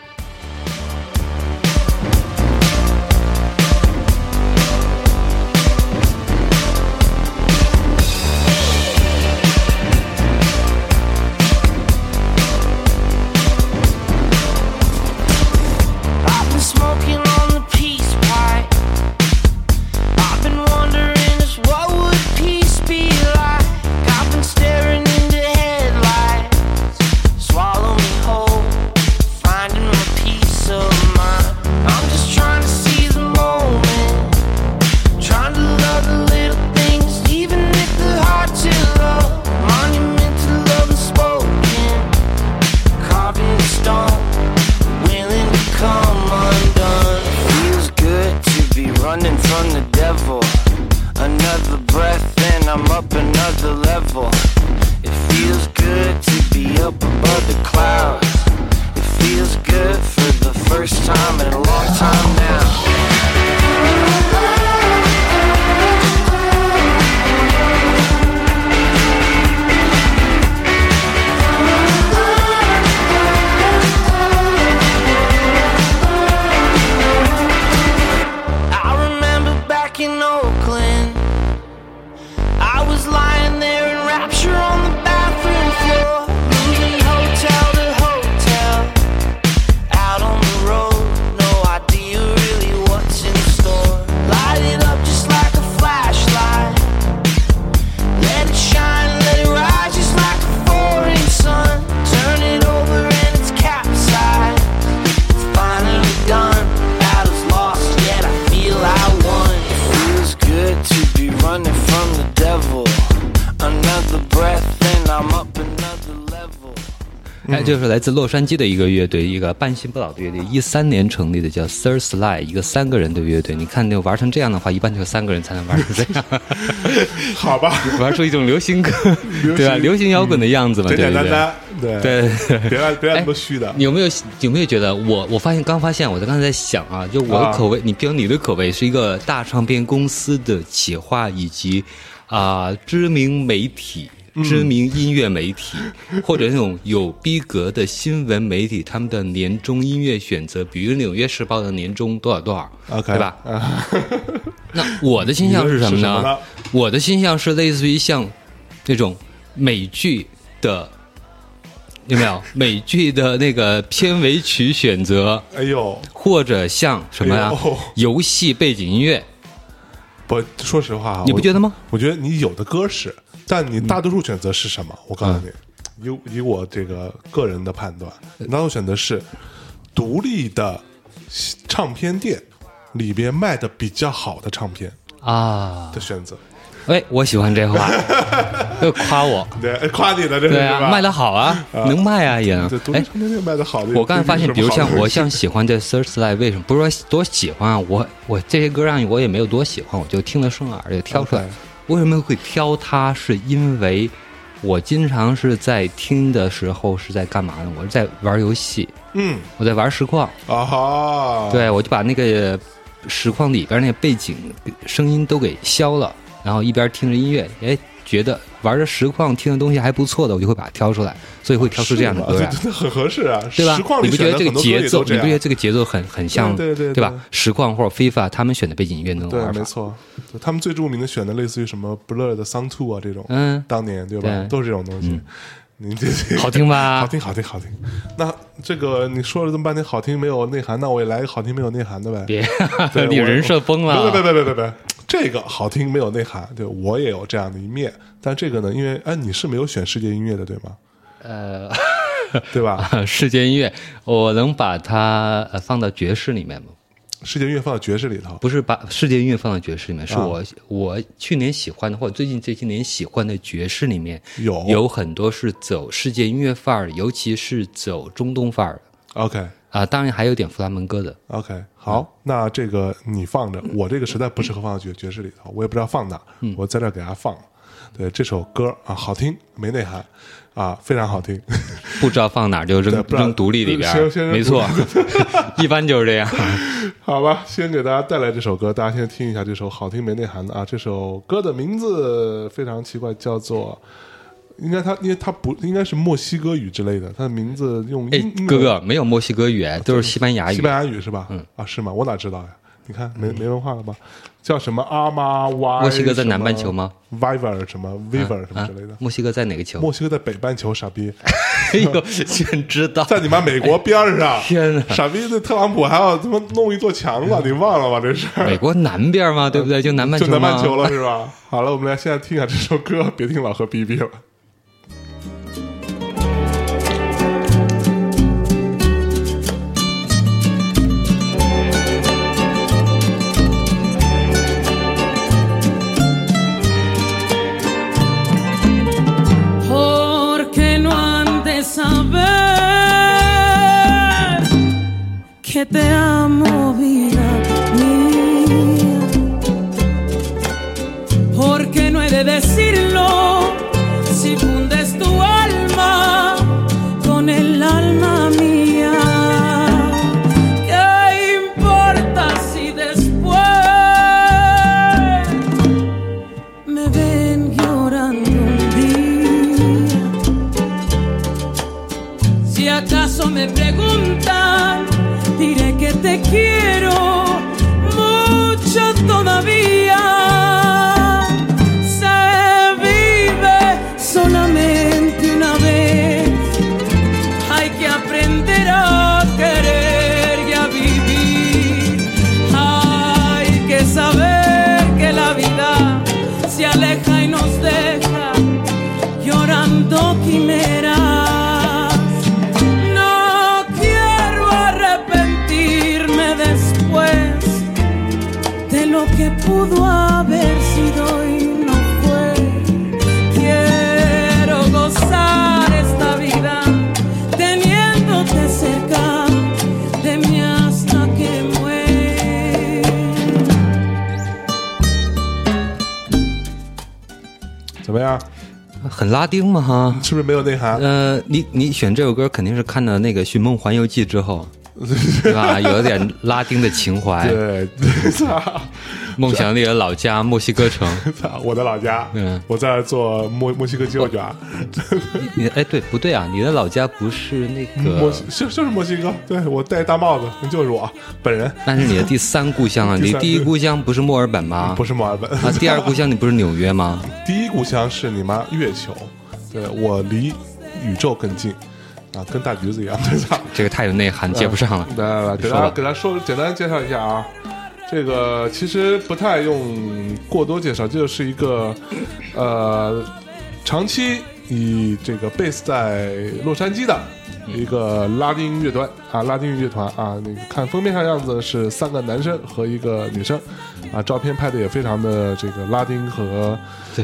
[SPEAKER 1] 就是来自洛杉矶的一个乐队，一个半新不老的乐队，13年成立的，叫 Third Slide， 一个3个人的乐队。你看，那玩成这样的话，一般就3个人才能玩成这样。
[SPEAKER 2] 好吧，
[SPEAKER 1] 玩出一种流行歌，对吧？流行摇滚的样子嘛，
[SPEAKER 2] 简简单单，
[SPEAKER 1] 对，
[SPEAKER 2] 别来那么虚的。
[SPEAKER 1] 有没有觉得我刚发现，我刚才在想啊，就我的口味，比如你的口味是一个大唱片公司的企划以及知名媒体知名音乐媒体，或者那种有逼格的新闻媒体，他们的年终音乐选择，比如《纽约时报》的年终多少多少
[SPEAKER 2] OK
[SPEAKER 1] 对吧？那我的倾向是什么呢？
[SPEAKER 2] 你的是什么呢
[SPEAKER 1] 我的倾向是类似于像这种美剧的，有没有美剧的那个片尾曲选择，
[SPEAKER 2] 哎呦，
[SPEAKER 1] 或者像什么呀、
[SPEAKER 2] 哎呦
[SPEAKER 1] 游戏背景音乐，
[SPEAKER 2] 不，说实话啊，
[SPEAKER 1] 你不觉得吗？
[SPEAKER 2] 我觉得你有的歌是，但你大多数选择是什么？我告诉你，以我这个个人的判断，大多数选择是独立的唱片店里边卖的比较好的唱片
[SPEAKER 1] 啊
[SPEAKER 2] 的选择。
[SPEAKER 1] 哎，我喜欢这话，又夸我。
[SPEAKER 2] 对，夸你的这是
[SPEAKER 1] 对啊，
[SPEAKER 2] 吧？
[SPEAKER 1] 卖的好啊，能卖啊也能
[SPEAKER 2] 这。独立
[SPEAKER 1] 哎，
[SPEAKER 2] 唱片店卖的好的，
[SPEAKER 1] 我刚才发现，比如像我
[SPEAKER 2] 像
[SPEAKER 1] 像喜欢这 Thursday， 为什么不是说多喜欢啊？我这些歌让我也没有多喜欢，我就听得顺耳就挑出来。
[SPEAKER 2] OK
[SPEAKER 1] 为什么会挑它？是因为我经常是在听的时候是在干嘛呢？我是在玩游戏，我在玩实况。
[SPEAKER 2] 啊哈，
[SPEAKER 1] 对，我就把那个实况里边那个背景声音都给消了，然后一边听着音乐，哎，觉得玩着实况听的东西还不错的，我就会把它挑出来，所以会挑出这样的歌来，
[SPEAKER 2] 这真的很合适啊，
[SPEAKER 1] 对吧
[SPEAKER 2] 实况？里
[SPEAKER 1] 你不觉得这个
[SPEAKER 2] 选的很多歌
[SPEAKER 1] 节奏，
[SPEAKER 2] 也都这样
[SPEAKER 1] 你不觉得这个节奏很像，
[SPEAKER 2] 对
[SPEAKER 1] 吧？实况或者 FIFA 他们选的背景音乐那种
[SPEAKER 2] 对，
[SPEAKER 1] 玩法，
[SPEAKER 2] 没错，就他们最著名的选的类似于什么 Blur 的 Song 2啊这种，当年对吧？
[SPEAKER 1] 对
[SPEAKER 2] 都是这种东西。你这
[SPEAKER 1] 好听吧？
[SPEAKER 2] 好听，好听，好听。那这个你说了这么半天好听没有内涵，那我也来一个好听没有内涵的呗。
[SPEAKER 1] 别
[SPEAKER 2] 对，
[SPEAKER 1] 你人设崩了，
[SPEAKER 2] 别，这个好听没有内涵，对我也有这样的一面。但这个呢，因为你是没有选世界音乐的，对吗？对吧？
[SPEAKER 1] 世界音乐，我能把它放到爵士里面吗？
[SPEAKER 2] 世界音乐放到爵士里头，
[SPEAKER 1] 不是把世界音乐放到爵士里面，是我去年喜欢的，或者最近这些年喜欢的爵士里面，有很多是走世界音乐范儿，尤其是走中东范儿的。
[SPEAKER 2] OK
[SPEAKER 1] 啊，当然还有点弗拉门戈的。
[SPEAKER 2] OK， 好，那这个你放着，我这个实在不适合放到爵士里头，我也不知道放哪，我在这儿给它放了。对，这首歌啊，好听没内涵啊，非常好听，
[SPEAKER 1] 不知道放哪儿就扔独立里边，没错，一般就是这样。
[SPEAKER 2] 好吧，先给大家带来这首歌，大家先听一下这首好听没内涵的啊。这首歌的名字非常奇怪，叫做因为它不应该是墨西哥语之类的，它的名字用
[SPEAKER 1] 哥哥没有墨西哥语，都是西班牙语。
[SPEAKER 2] 西班牙语是吧？是吗？我哪知道呀？你看没文化了吧？叫什么阿妈哇？
[SPEAKER 1] 墨西哥在南半球吗
[SPEAKER 2] ？Viver 什么 Viver 什么之类的？
[SPEAKER 1] 墨西哥在哪个球？
[SPEAKER 2] 墨西哥在北半球，傻逼！
[SPEAKER 1] 哎呦，居然知道，
[SPEAKER 2] 在你妈美国边上！
[SPEAKER 1] 天哪，
[SPEAKER 2] 傻逼！那特朗普还要他妈弄一座墙了，你忘了吗？这是
[SPEAKER 1] 美国南边吗？对不对？就南半球，
[SPEAKER 2] 就南半球了是吧？好了，我们来现在听一下这首歌，别听老何逼逼了。
[SPEAKER 5] Que te amo, vida mía. Porque no he de decirlo si fundes tu alma con el alma mía. ¿Qué importa si después me ven llorando un día? Si acaso me preguntan, diré que te quiero mucho todavía. Se vive solamente una vez. Hay que aprender a querer y a vivir. Hay que saber que la vida se aleja y nos deja llorando quimeras. Lo que pudo haber sido y no fue. Quiero gozar esta vida teniéndote cerca de mí hasta que muera.
[SPEAKER 2] 怎么样？
[SPEAKER 1] 很拉丁嘛哈？
[SPEAKER 2] 是不是没有内涵？
[SPEAKER 1] 你选这首歌肯定是看了那个《寻梦环游记》之后。对吧？有点拉丁的情怀。
[SPEAKER 2] 对，
[SPEAKER 1] 梦想里的老家墨西哥城。
[SPEAKER 2] 我的老家，我在做墨西哥鸡肉卷。
[SPEAKER 1] 你哎，对不对啊？你的老家不是那个
[SPEAKER 2] 就是墨西哥，对，我戴大帽子，就是我本人。
[SPEAKER 1] 那是你的第3故乡啊！你第一故乡不是墨尔本吗？
[SPEAKER 2] 不是墨尔本
[SPEAKER 1] 啊。第2故乡你不是纽约吗？
[SPEAKER 2] 第一故乡是你妈月球，对，我离宇宙更近啊，跟大橘子一样，对吧？
[SPEAKER 1] 这个太有内涵，接不上了。
[SPEAKER 2] 来，给大家说，简单介绍一下啊。这个其实不太用过多介绍，这就是一个长期以这个 base 在洛杉矶的一个拉丁乐团啊，拉丁乐团啊，那个看封面上样子是3个男生和1个女生啊，照片拍的也非常的这个拉丁和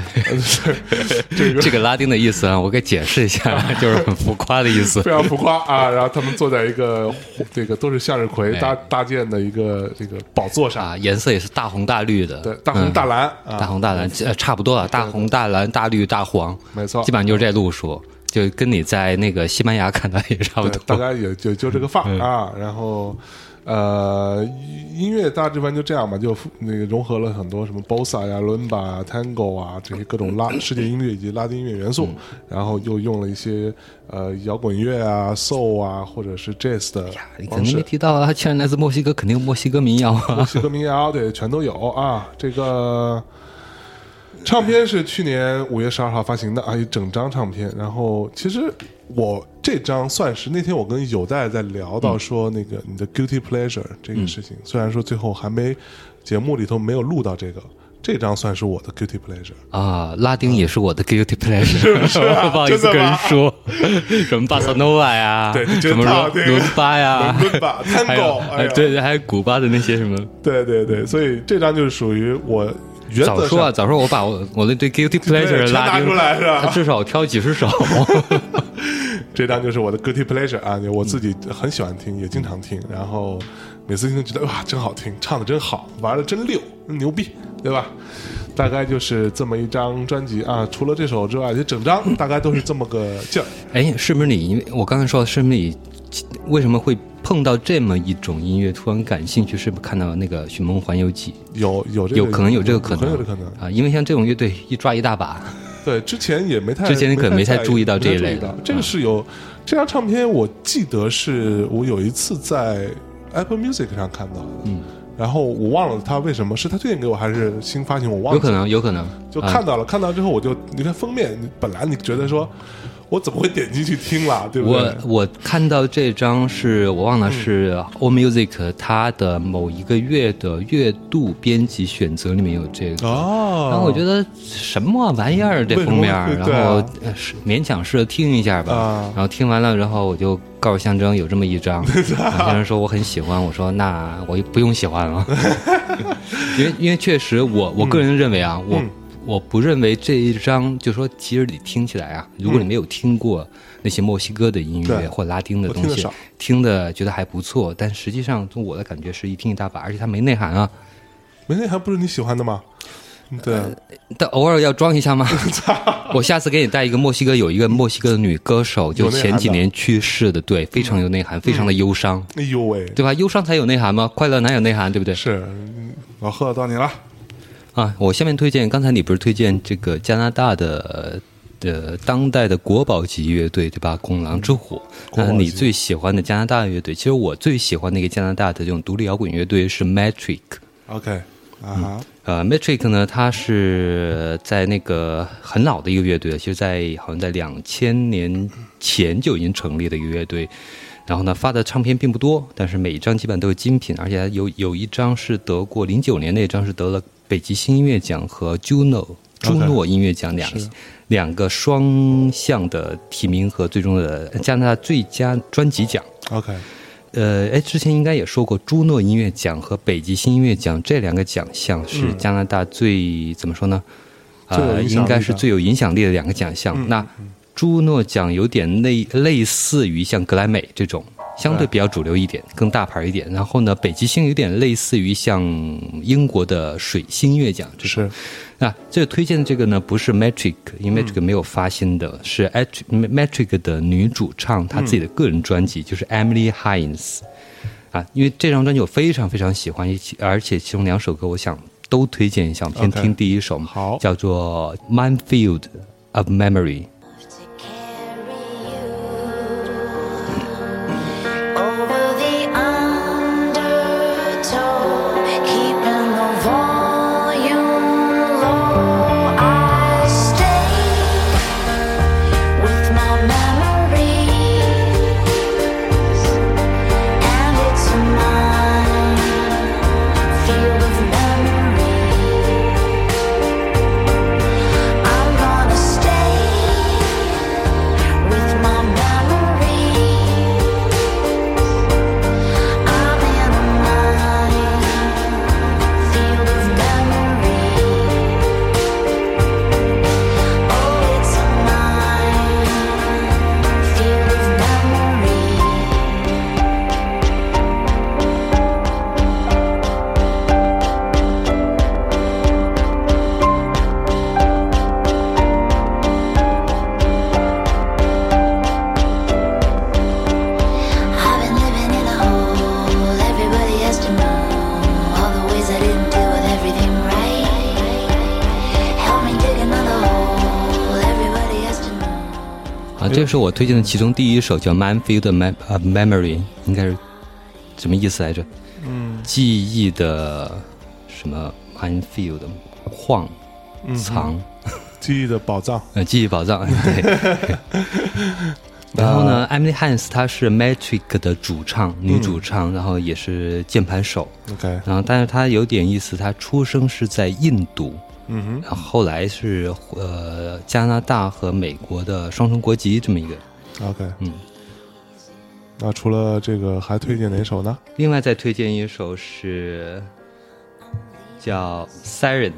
[SPEAKER 1] 这个拉丁的意思啊，我给解释一下，就是很浮夸的意思，
[SPEAKER 2] 非常浮夸啊。然后他们坐在一个这个都是向日葵搭建的一个这个宝座上
[SPEAKER 1] 啊，颜色也是大红大绿的，
[SPEAKER 2] 对，大红大蓝，
[SPEAKER 1] 大红大蓝差不多了，大红大蓝大绿大黄，
[SPEAKER 2] 没错，
[SPEAKER 1] 基本上就是这路数。就跟你在那个西班牙看到也差不多，
[SPEAKER 2] 大概也就这个范啊。然后音乐大致上就这样嘛，就那个融合了很多什么 bossa 呀、伦巴、tango 啊这些各种世界音乐以及拉丁音乐元素，然后又用了一些摇滚乐啊、soul 啊或者是 jazz 的方式。
[SPEAKER 1] 你肯定没提到啊，既然来自墨西哥，肯定有墨西哥民谣啊，
[SPEAKER 2] 墨西哥民谣对，全都有啊。这个唱片是去年5月12号发行的啊，一整张唱片。然后其实我这张算是那天我跟有代在聊到说那个你的 guilty pleasure 这个事情，虽然说最后还没节目里头没有录到这张算是我的 guilty pleasure
[SPEAKER 1] 啊，拉丁也是我的 guilty pleasure， 是不好意思跟人说，什么巴塞诺瓦呀，
[SPEAKER 2] 对，
[SPEAKER 1] 什么伦巴呀，
[SPEAKER 2] 伦巴 tango，
[SPEAKER 1] 对，还有古巴的那些什么，
[SPEAKER 2] 对，所以这张就是属于我。
[SPEAKER 1] 早说我把我的对 guilty pleasure 拉丁
[SPEAKER 2] 出来是吧？
[SPEAKER 1] 至少挑几十首。
[SPEAKER 2] 这张就是我的 guilty pleasure 啊，我自己很喜欢听，也经常听，然后每次听都觉得哇，真好听，唱的真好，玩的真溜，牛逼，对吧？大概就是这么一张专辑啊，除了这首之外，这整张大概都是这么个劲儿。
[SPEAKER 1] 哎，是不是你？因为我刚才说，是不是你为什么会碰到这么一种音乐突然感兴趣？是不是看到那个《寻梦环游记》？
[SPEAKER 2] 有这个，
[SPEAKER 1] 可能有这个可能，
[SPEAKER 2] 有这个可能
[SPEAKER 1] 啊！因为像这种乐队一抓一大把。
[SPEAKER 2] 对，之前你可
[SPEAKER 1] 能没太注意到这一类的。
[SPEAKER 2] 这个是有这张唱片，我记得是我有一次在 Apple Music 上看到的，然后我忘了他为什么是他推荐给我还是新发行，我忘了。
[SPEAKER 1] 有可能
[SPEAKER 2] 就看到了，看到之后我就你看封面，本来你觉得说。我怎么会点进去听了，对不对？
[SPEAKER 1] 我看到这张是我忘了是 AllMusic 它的某一个月的月度编辑选择里面有这个然后我觉得什么玩意儿这封面，然后勉强试着听一下吧，然后听完了，然后我就告诉象征有这么一张，象征说我很喜欢，我说那我不用喜欢了，因为确实我个人认为啊，我不认为这一张，就说其实你听起来啊，如果你没有听过那些墨西哥的音乐或拉丁的东西，听的觉得还不错，但实际上从我的感觉是一听一大把，而且它没内涵啊。
[SPEAKER 2] 没内涵不是你喜欢的吗？对，
[SPEAKER 1] 但偶尔要装一下吗？我下次给你带一个墨西哥，有一个墨西哥的女歌手，就前几年去世的，对，非常有内涵，非常的忧伤。
[SPEAKER 2] 哎呦喂，
[SPEAKER 1] 对吧？忧伤才有内涵吗？快乐哪有内涵？对不对？
[SPEAKER 2] 是，老贺到你了。
[SPEAKER 1] 啊，我下面推荐，刚才你不是推荐这个加拿大的当代的国宝级乐队对吧？拱狼之虎。你最喜欢的加拿大乐队，其实我最喜欢的一个加拿大的这种独立摇滚乐队是 Metric。OK， Metric 呢，它是在那个很老的一个乐队，其实好像在2000年前就已经成立的一个乐队。然后呢，发的唱片并不多，但是每一张基本都是精品，而且有一张是得过09年那张是得了北极星音乐奖和朱诺音乐奖两个双项的提名和最终的加拿大最佳专辑奖。
[SPEAKER 2] OK，
[SPEAKER 1] 之前应该也说过，朱诺音乐奖和北极星音乐奖这两个奖项是加拿大最怎么说呢？应该是最有影响力的两个奖项。那朱诺奖有点类似于像格莱美这种相对比较主流一点，更大牌一点。然后呢，北极星有点类似于像英国的水星音乐奖这种。那这个推荐的这个呢，不是 Metric， 因为 Metric 没有发新的，是 Metric 的女主唱她自己的个人专辑，就是 Emily Hines。因为这张专辑我非常非常喜欢，而且其中2首歌我想都推荐一下。我们先
[SPEAKER 2] OK
[SPEAKER 1] 听第一首，
[SPEAKER 2] 好
[SPEAKER 1] 叫做《Minefield of Memory》。
[SPEAKER 8] Over the undertow, keeping the volume low, I stay with my memories, and it's a minefield of memory. I'm gonna stay with my memories. I'm in a minefield of memory. Oh, it's a minefield of memory. I've been living in a hole. Everybody has to know all the ways I didn't do with everything right. Help me dig another hole. Everybody has to know.
[SPEAKER 1] 啊，这是我推荐的其中第一首，叫《Minefield of Memory》，应该是什么意思来着？记忆的什么 minefield 矿藏，
[SPEAKER 2] 记忆的宝藏。
[SPEAKER 1] 记忆宝藏，对。然后呢，Emily Hans 她是 Metric 的主唱，女主唱，然后也是键盘手。
[SPEAKER 2] OK，
[SPEAKER 1] 然后，但是她有点意思，她出生是在印度，然后后来是加拿大和美国的双重国籍这么一个。
[SPEAKER 2] OK， 那除了这个还推荐哪首呢？
[SPEAKER 1] 另外再推荐一首是叫 Siren。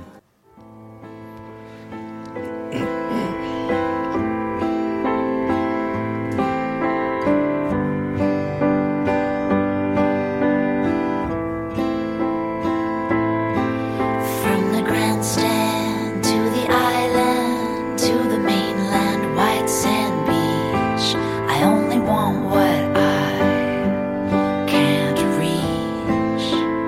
[SPEAKER 8] From the grandstand to the island to the mainland, white sand beach. I only want what I can't reach.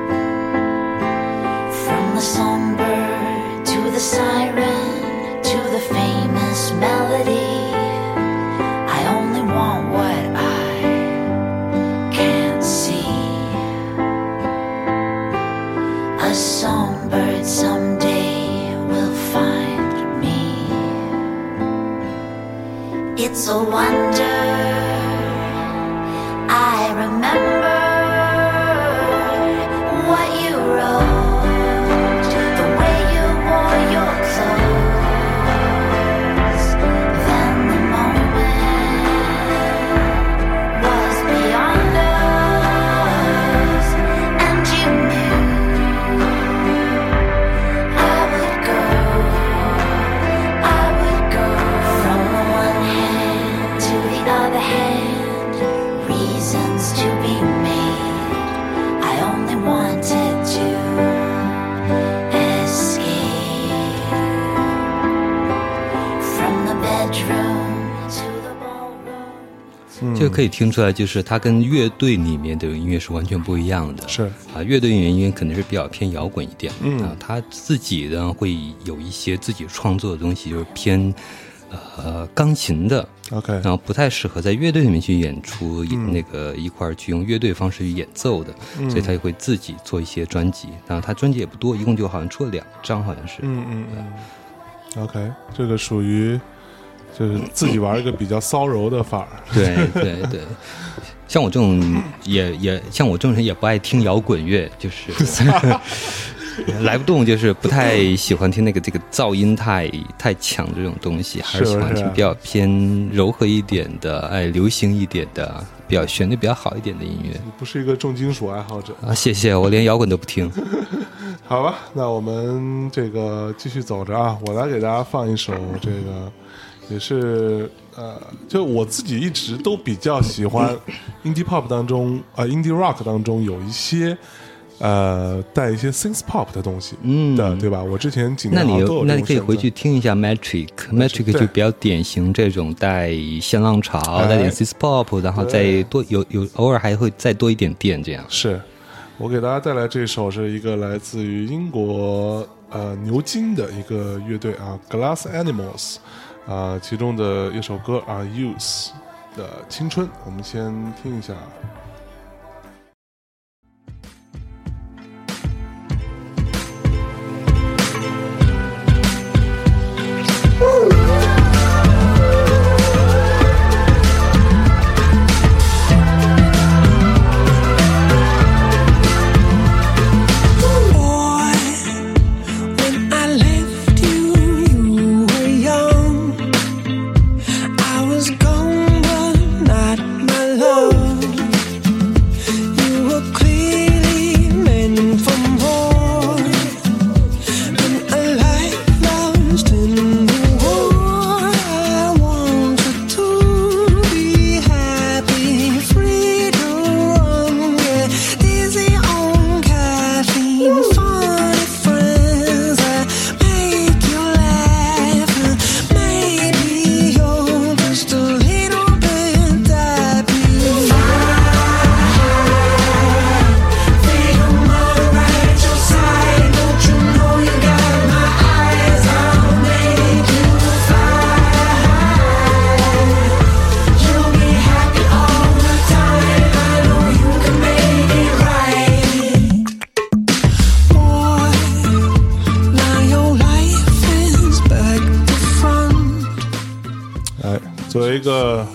[SPEAKER 8] From the songbird to the siren to the famous melody. I only want what I can't see. A songbird someday will find me. It's a wonder I remember what you wrote, the way you wore your clothes. Then the moment was beyond us, and you knew I would go from the one hand to the other hand, reasons to be made. I only wanted to escape from the bedroom to the ballroom.
[SPEAKER 1] 这个可以听出来，就是它跟乐队里面的音乐是完全不一样的。
[SPEAKER 2] 是
[SPEAKER 1] 啊，乐队里面音乐可能是比较偏摇滚一点，啊，他自己呢会有一些自己创作的东西，就是偏钢琴的
[SPEAKER 2] OK，
[SPEAKER 1] 然后不太适合在乐队里面去演出，那个一块儿去用乐队方式去演奏的，所以他就会自己做一些专辑。然后他专辑也不多，一共就好像出了2张，好像是。
[SPEAKER 2] OK， 这个属于就是自己玩一个比较骚柔的法儿。
[SPEAKER 1] 对对对，像我这种像我这种人也不爱听摇滚乐，就是来不动，就是不太喜欢听这个噪音太强这种东西，还是喜欢听比较偏柔和一点的，流行一点的，比较旋律比较好一点的音乐。
[SPEAKER 2] 你不是一个重金属爱好者
[SPEAKER 1] 啊？谢谢，我连摇滚都不听。
[SPEAKER 2] 好吧，那我们这个继续走着啊，我来给大家放一首这个。也是就我自己一直都比较喜欢 indie pop 当中indie rock 当中有一些带一些 synth pop 的东西的，对吧？我之前几年好像都有这种选择。
[SPEAKER 1] 那你可以回去听一下 Metric 就比较典型这种带新浪潮，带点 synth pop， 然后再多有偶尔还会再多一点电这样。
[SPEAKER 2] 是我给大家带来这首是一个来自于英国牛津的一个乐队啊 ，Glass Animals 啊，其中的一首歌啊 ，Youth 的青春，我们先听一下。作为一个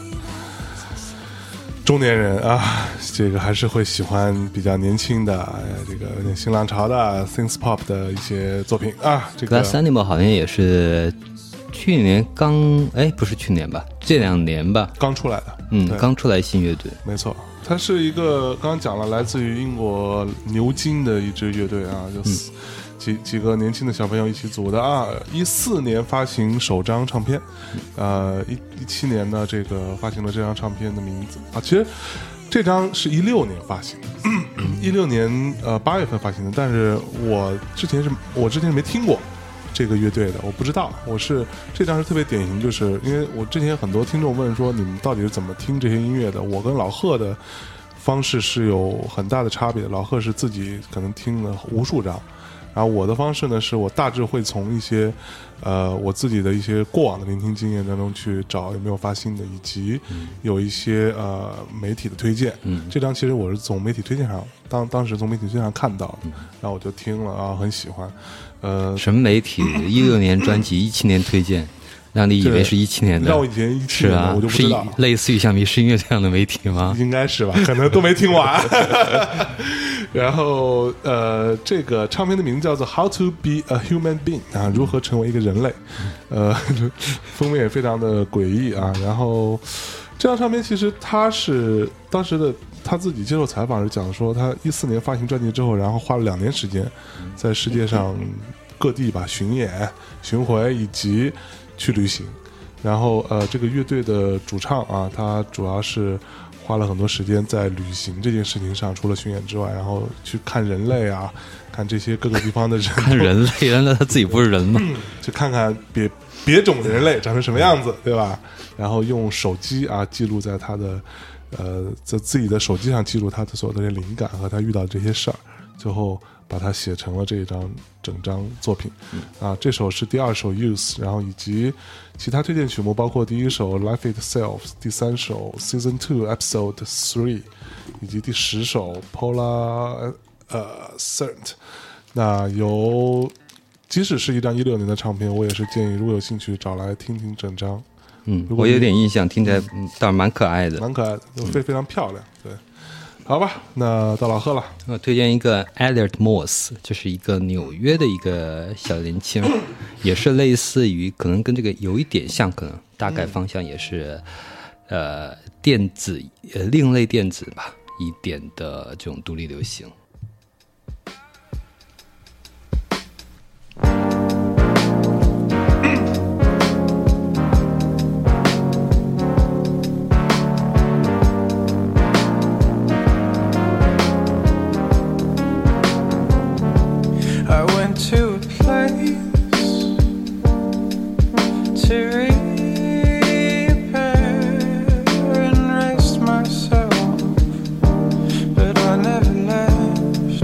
[SPEAKER 2] 中年人啊，这个还是会喜欢比较年轻的，这个有点新浪潮的 synth pop 的一些作品啊。这个
[SPEAKER 1] Glass Animal 好像也是去年不是去年吧，这2年吧
[SPEAKER 2] 刚出来的，
[SPEAKER 1] 刚出来新乐队，
[SPEAKER 2] 没错。它是一个刚刚讲了来自于英国牛津的一支乐队啊，就是几个年轻的小朋友一起组的啊，14年发行首张唱片，17年呢这个发行了这张唱片的名字啊，其实这张是16年发行的，16年8月份发行的，但是我之前是没听过这个乐队的，我不知道，这张是特别典型，就是因为我之前很多听众问说你们到底是怎么听这些音乐的，我跟老贺的方式是有很大的差别，老贺是自己可能听了无数张。然后我的方式呢，是我大致会从一些，我自己的一些过往的聆听经验当中去找有没有发新的，以及有一些媒体的推荐。这张其实我是从媒体推荐上，当时从媒体推荐上看到的，然后我就听了啊，很喜欢。
[SPEAKER 1] 什么媒体？16年专辑，17年推荐。让你以为是17年的，
[SPEAKER 2] 让我以前17年的我就不知道，
[SPEAKER 1] 是类似于像迷失音乐这样的媒体吗？
[SPEAKER 2] 应该是吧，可能都没听完。然后这个唱片的名字叫做 How to be a Human Being 啊，如何成为一个人类。封面也非常的诡异啊。然后这张唱片其实他是当时的他自己接受采访时讲说，他14年发行专辑之后，然后花了2年时间在世界上各地吧巡演、巡回以及去旅行。然后这个乐队的主唱啊，他主要是花了很多时间在旅行这件事情上，除了巡演之外，然后去看人类啊，看这些各个地方的人。
[SPEAKER 1] 看人类，难道他自己不是人吗？
[SPEAKER 2] 去看看别种的人类长成什么样子，对吧？然后用手机啊记录在他的在自己的手机上记录他的所有的这些灵感和他遇到的这些事儿，最后把它写成了这一张整张作品。啊，这首是第2首 Youth， 然后以及其他推荐曲目包括第1首 Life Itself， 第3首 Season 2 Episode 3， 以及第10首 Polar Cert。 那即使是一张16年的唱片，我也是建议如果有兴趣找来听听整张。
[SPEAKER 1] 我有点印象，听起来倒是蛮可爱的，
[SPEAKER 2] 蛮可爱的，非常漂亮。对，好吧，那到老贺了。
[SPEAKER 1] 我推荐一个 Elliot Moss， 就是一个纽约的一个小年轻，也是类似于可能跟这个有一点像，可能大概方向也是电子另类电子吧一点的这种独立流行。
[SPEAKER 4] But I never left.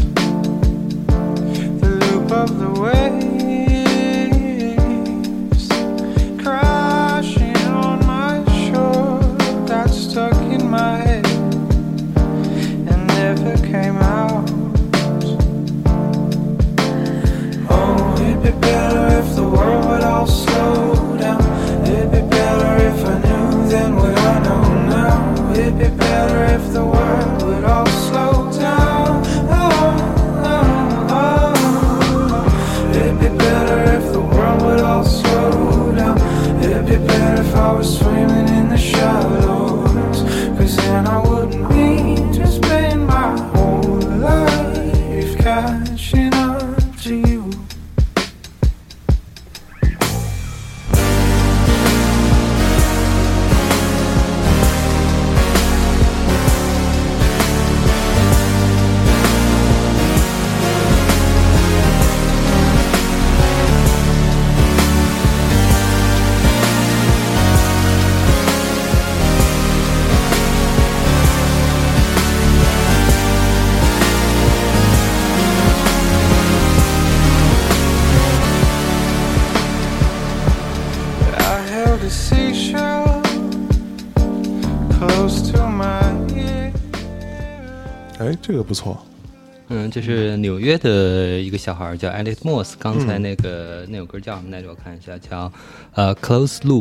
[SPEAKER 2] 哎，这个不错。
[SPEAKER 1] 这是纽约的一个小孩叫 Elliot Moss， 刚才那首歌叫什么来着？我看一下，叫Close Loop，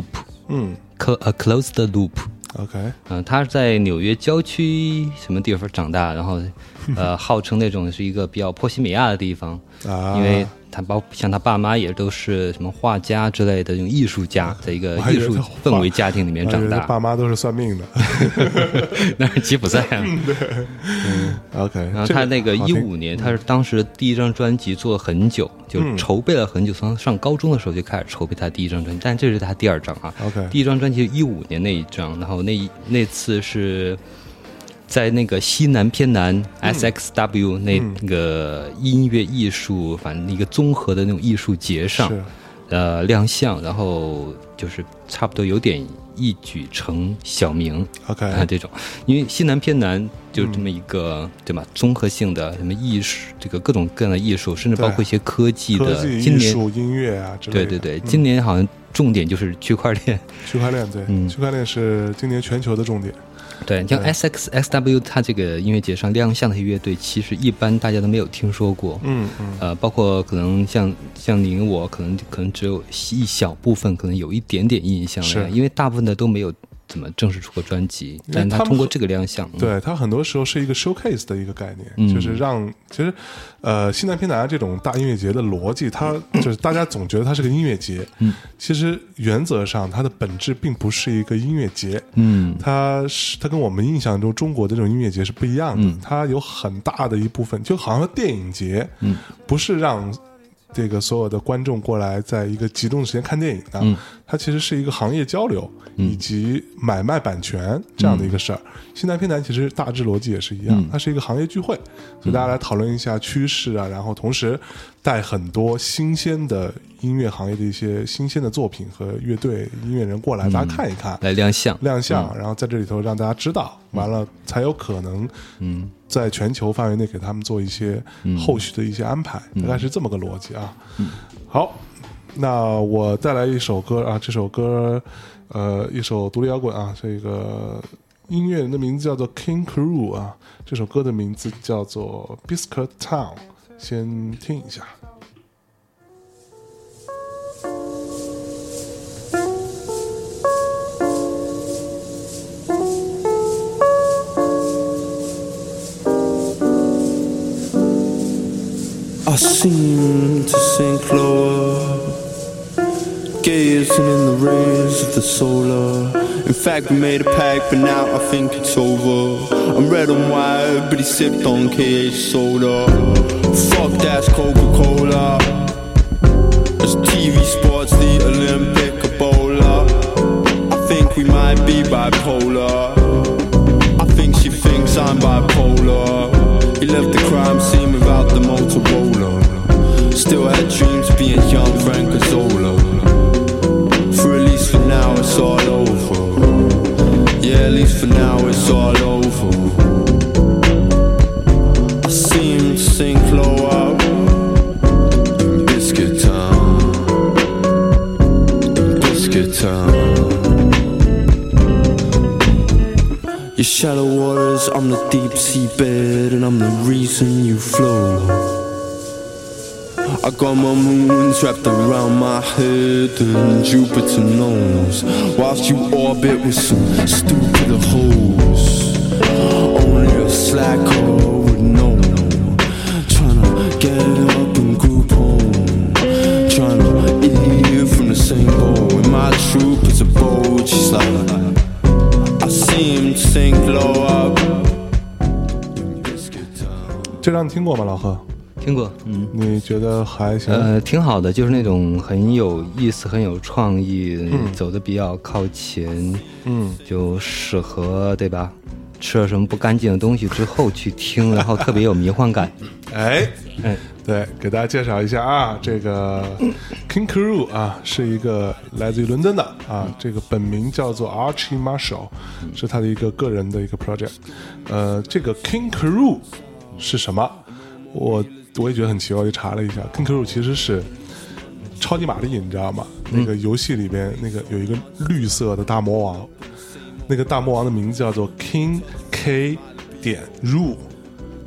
[SPEAKER 1] Close the Loop。OK， 他是在纽约郊区什么地方长大，然后号称那种是一个比较波西米亚的地方，因为像他爸妈也都是什么画家之类的这种艺术家，在一个艺术氛围家庭里面长大。
[SPEAKER 2] 爸妈都是算命的，
[SPEAKER 1] 那是吉普赛啊。
[SPEAKER 2] OK，
[SPEAKER 1] 然后他那个15年，他是当时第一张专辑做了很久，就筹备了很久，从上高中的时候就开始筹备他第一张专辑，但这是他第二张啊。
[SPEAKER 2] OK，
[SPEAKER 1] 第一张专辑15年那一张，然后那次是在那个西南偏南 SXW 那个音乐艺术，反正一个综合的那种艺术节上，亮相，然后就是差不多有点一举成小名。
[SPEAKER 2] OK，
[SPEAKER 1] 这种，因为西南偏南就这么一个，对吧？综合性的什么艺术，这个各种各样的艺术，甚至包括一些科技的，今年
[SPEAKER 2] 艺术、音乐啊之类的。
[SPEAKER 1] 对，今年好像重点就是区块链。
[SPEAKER 2] 区块链，对，区块链是今年全球的重点。
[SPEAKER 1] 对，像 SXSW 它这个音乐节上亮相的乐队，其实一般大家都没有听说过。包括可能像您我，可能只有一小部分可能有一点点印象了，因为大部分的都没有怎么正式出过专辑，但他通过这个亮相，
[SPEAKER 2] 对，他很多时候是一个 showcase 的一个概念，就是让其实西南偏南这种大音乐节的逻辑，它就是大家总觉得它是个音乐节，其实原则上它的本质并不是一个音乐节，它跟我们印象中中国的这种音乐节是不一样的，它有很大的一部分就好像电影节，不是让这个所有的观众过来在一个集中的时间看电影的，它其实是一个行业交流以及买卖版权这样的一个事儿。西南偏南其实大致逻辑也是一样，它是一个行业聚会，所以大家来讨论一下趋势啊，然后同时带很多新鲜的音乐行业的一些新鲜的作品和乐队音乐人过来，大家看一看，
[SPEAKER 1] 来亮相，
[SPEAKER 2] 然后在这里头让大家知道，完了才有可能在全球范围内给他们做一些后续的一些安排，大概是这么个逻辑啊。好，那我带来一首歌啊，这首歌一首独立摇滚啊，这个音乐人的名字叫做 King Crew 啊，这首歌的名字叫做 Biscuit Town， 先听一下。
[SPEAKER 9] I seem to sink lower, gazing in the rays of the solar. In fact, we made a pact, but now I think it's over. I'm red and white, but he sipped on KH soda. Fuck that's Coca-Cola. As TV sports, the Olympic Ebola. I think we might be bipolar. I think she thinks I'm bipolar. He left the crime scene without the Motorola. Still had dreams of being young Frank Azzola. For at least for now it's all over. Yeah, at least for now it's all over. I see him sink low up in Biscuit Town, in Biscuit Town. Your shallow waters, I'm the deep sea bed, and I'm the reason you flow. I got my moons wrapped around my head, and Jupiter knows. Whilst you orbit with some stupid hoes, only a slacker would know. Tryna get up and group home, tryna eat from the same bowl. And my troop is a boat, she's like I see him sink low up.
[SPEAKER 2] 这张你听过吗，老贺？
[SPEAKER 1] 听过，
[SPEAKER 2] 你觉得还行？
[SPEAKER 1] 挺好的，就是那种很有意思、很有创意，走的比较靠前，就适合，对吧？吃了什么不干净的东西之后去听，然后特别有迷幻感。
[SPEAKER 2] 对，给大家介绍一下啊，这个 King Crew 啊，是一个来自于伦敦的啊，这个本名叫做 Archie Marshall，是他的一个个人的一个 project。这个 King Crew 是什么？我也觉得很奇怪，我就查了一下 ，King Crew 其实是超级玛丽，你知道吗？那个游戏里边那个有一个绿色的大魔王，那个大魔王的名字叫做 King K.Rool，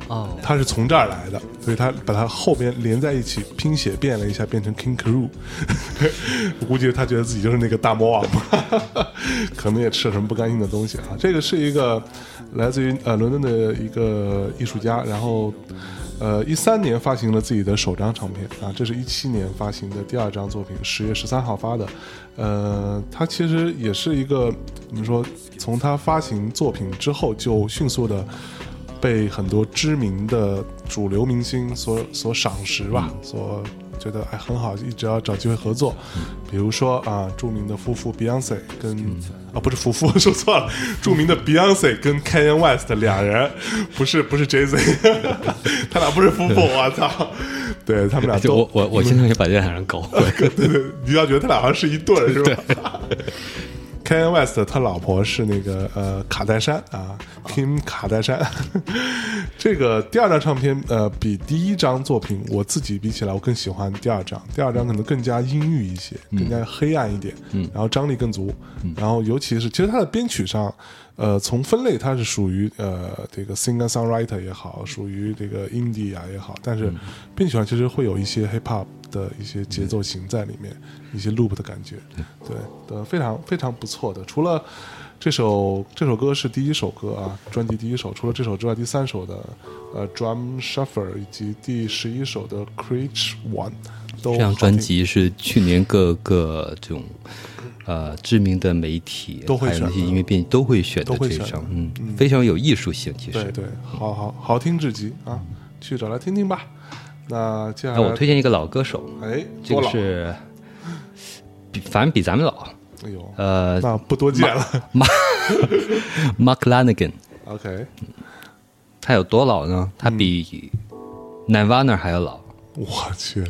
[SPEAKER 1] 哦，
[SPEAKER 2] 他是从这儿来的，所以他把它后边连在一起拼写变了一下，变成 King Crew 我估计他觉得自己就是那个大魔王可能也吃了什么不干净的东西啊。这个是一个来自于伦敦的一个艺术家，然后13年发行了自己的首张唱片啊，这是17年发行的第2张作品，10月13号发的。他其实也是一个怎么说，从他发行作品之后就迅速的被很多知名的主流明星所赏识吧，所觉得很好，一直要找机会合作。比如说啊，著名的夫妇 Beyonce 跟不是夫妇说错了，著名的 Beyonce 跟 Kanye West 俩人，不是 Jay-Z 他俩不是夫妇，我操！对他们俩都
[SPEAKER 1] 我现在也把这两人搞混。
[SPEAKER 2] 对，你要觉得他俩好像是一对儿是吧？Kanye West 他老婆是那个卡戴珊啊 ，Kim 卡戴珊。这个第2张唱片比第1张作品我自己比起来，我更喜欢第2张。第2张可能更加阴郁一些，更加黑暗一点，然后张力更足。然后尤其是其实它的编曲上，从分类它是属于这个 singer songwriter 也好，属于这个 indie 啊也好，但是编曲上其实会有一些 hip hop 的一些节奏型在里面，一些 loop 的感觉，对，非常非常不错的。除了这首歌是第1首歌啊，专辑第1首，除了这首之外，第3首的Drum Shuffle 以及第11首的 Creech One 都
[SPEAKER 1] 这张专辑是去年各个这种知名的媒体
[SPEAKER 2] 都会选，
[SPEAKER 1] 还有那些音乐编辑都会选的这张，非常有艺术性，其实
[SPEAKER 2] 对，好听至极啊，去找来听听吧。那接下来
[SPEAKER 1] 我推荐一个老歌手，这个是反正比咱们老，
[SPEAKER 2] 哎呦，那不多见了。
[SPEAKER 1] Mark Lanegan，
[SPEAKER 2] OK，
[SPEAKER 1] 他有多老呢？他比 Nirvana 还要老。
[SPEAKER 2] 我去。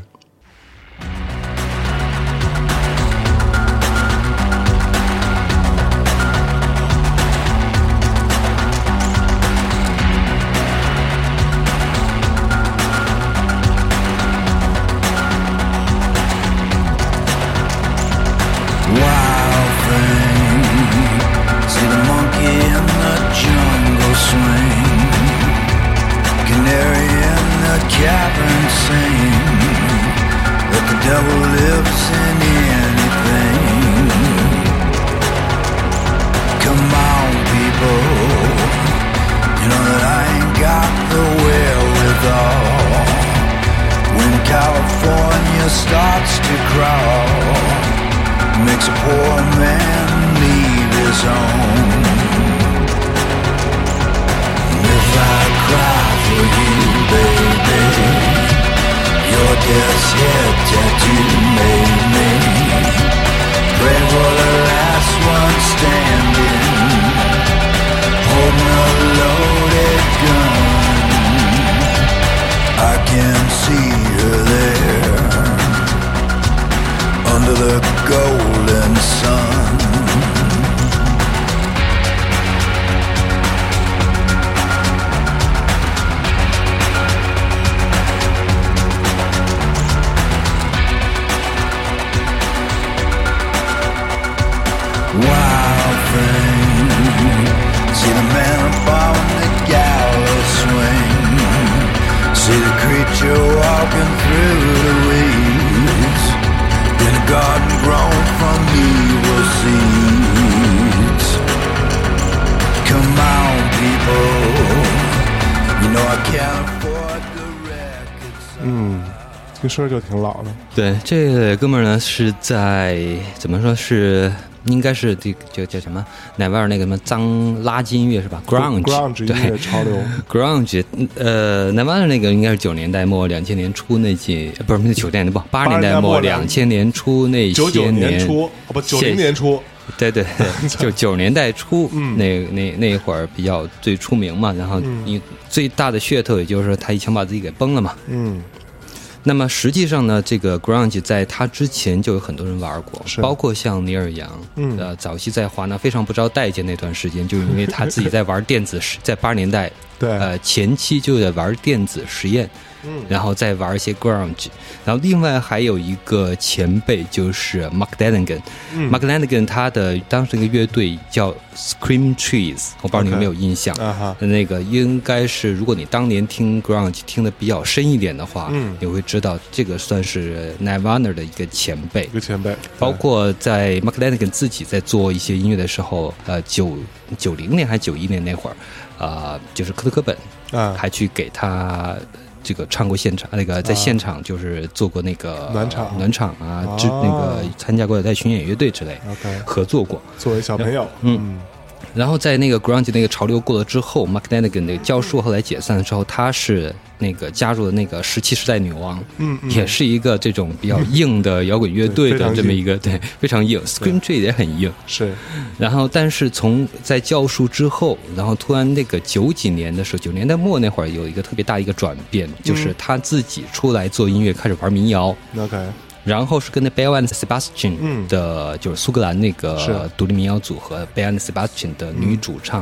[SPEAKER 2] 听声就挺老的。
[SPEAKER 1] 对，这个哥们儿呢是在怎么说是应该是这个叫什么奶味儿那个什么脏垃圾音乐是吧 ？grunge
[SPEAKER 2] 音乐潮流
[SPEAKER 1] grunge 奶味儿那个应该是90年代末2000年初那届，不是90年代不80年代末2000年初那些
[SPEAKER 2] 90年初不90年初。
[SPEAKER 1] 对，就90年代初，那会儿比较最出名嘛，然后你最大的噱头也就是说他一枪把自己给崩了嘛，那么实际上呢，这个 grunge 在他之前就有很多人玩过，包括像尼尔杨，早期在华纳非常不招待见那段时间，就是因为他自己在玩电子，在80年代，
[SPEAKER 2] 对，
[SPEAKER 1] 前期就在玩电子实验， 然后再玩一些 grunge。然后另外还有一个前辈就是 Mark Lanegan，Mark Lanegan 他的当时一个乐队叫 Scream Trees， 我不知道你有没有印象。那个应该是如果你当年听 grunge 听的比较深一点的话，你会知道这个算是 Nirvana 的一个前辈。包括在 Mark Lanegan 自己在做一些音乐的时候，90年还是91年那会儿，就是科特·柯本还去给他这个唱过现场，那个在现场就是做过那个暖场啊，那个参加过在巡演乐队之类合作过，
[SPEAKER 2] 作为小朋友。
[SPEAKER 1] 然后在那个 grunge 那个潮流过了之后 ，Mark Lanegan 那个教授后来解散之后，他是那个加入了那个17时代女王，也是一个这种比较硬的摇滚乐队的这么一个，对，非常硬 ，Scream Tree 也很硬，
[SPEAKER 2] 是。
[SPEAKER 1] 然后，但是在教授之后，然后突然那个90几年的时候，90年代末那会儿有一个特别大一个转变，就是他自己出来做音乐，开始玩民谣。
[SPEAKER 2] OK。
[SPEAKER 1] 然后是跟那 Belle and Sebastian 的，就是苏格兰那个独立民谣组合 Belle and Sebastian 的女主唱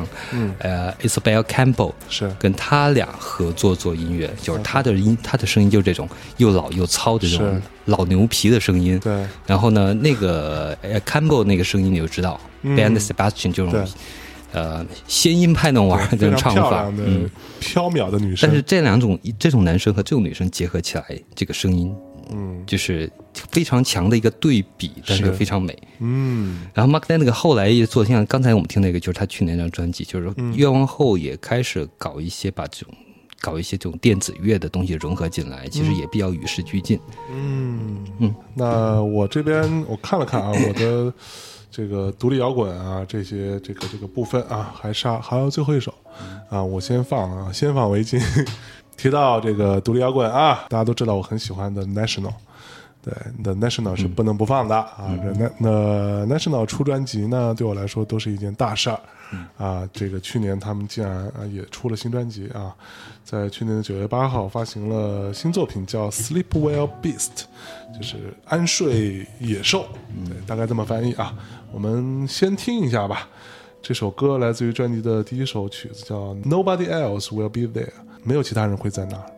[SPEAKER 1] ，Isabel Campbell
[SPEAKER 2] 是跟
[SPEAKER 1] 他俩合作做音乐，就是他的声音就是这种又老又糙的这种老牛皮的声音。
[SPEAKER 2] 对。
[SPEAKER 1] 然后呢，那个Campbell 那个声音你就知道，Belle and Sebastian 这种仙音派那种玩这种唱法，
[SPEAKER 2] 飘渺的女生。
[SPEAKER 1] 但是这种男生和这种女生结合起来，这个声音。就是非常强的一个对比，但是又非常美。然后 Mark Lanegan 后来也做，像刚才我们听那个，就是他去年那张专辑，就是越往后也开始搞一些这种电子乐的东西融合进来，其实也比较与时俱进。
[SPEAKER 2] 那我这边我看了看啊，我的这个独立摇滚啊，这些这个部分啊，还有最后一首啊，我先放为敬。提到这个独立摇滚啊，大家都知道我很喜欢的 National， 对 The National 是不能不放的啊。那 National 出专辑呢，对我来说都是一件大事儿啊。这个去年他们竟然也出了新专辑啊，在去年的9月8号发行了新作品，叫 Sleep Well Beast， 就是安睡野兽，对，大概这么翻译啊。我们先听一下吧。这首歌来自于专辑的第一首曲子，叫 Nobody Else Will Be There， 没有其他人会在那儿。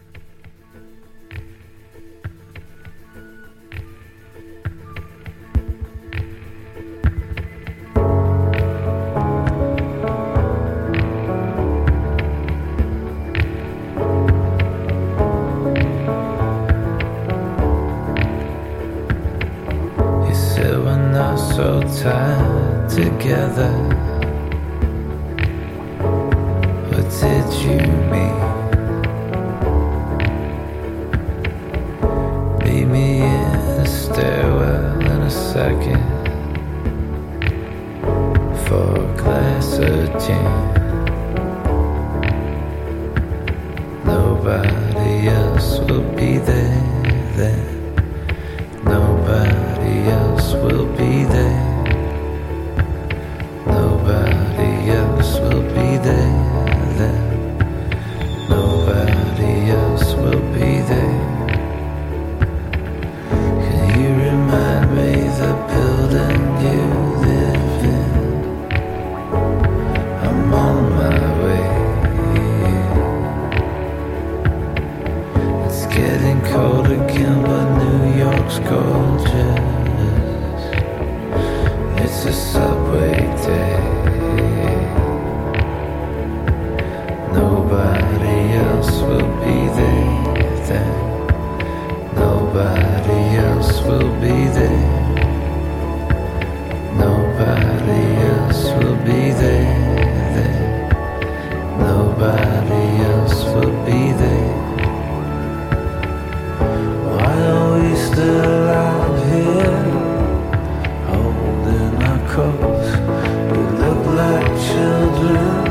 [SPEAKER 4] So tied together, what did you mean? Meet me in the stairwell in a second for a glass of gin. Nobody else will be there then. Nobody else will be there. Nobody else will be there then. Nobody else will be there. Can you remind me the building you live in? I'm on my way. It's getting cold again, but New York's gorgeous. It's a subway day. Nobody else will be there then. Nobody else will be there. Nobody else will be there then. Nobody else will be there. Why are we still out here holding our coats? We look like children.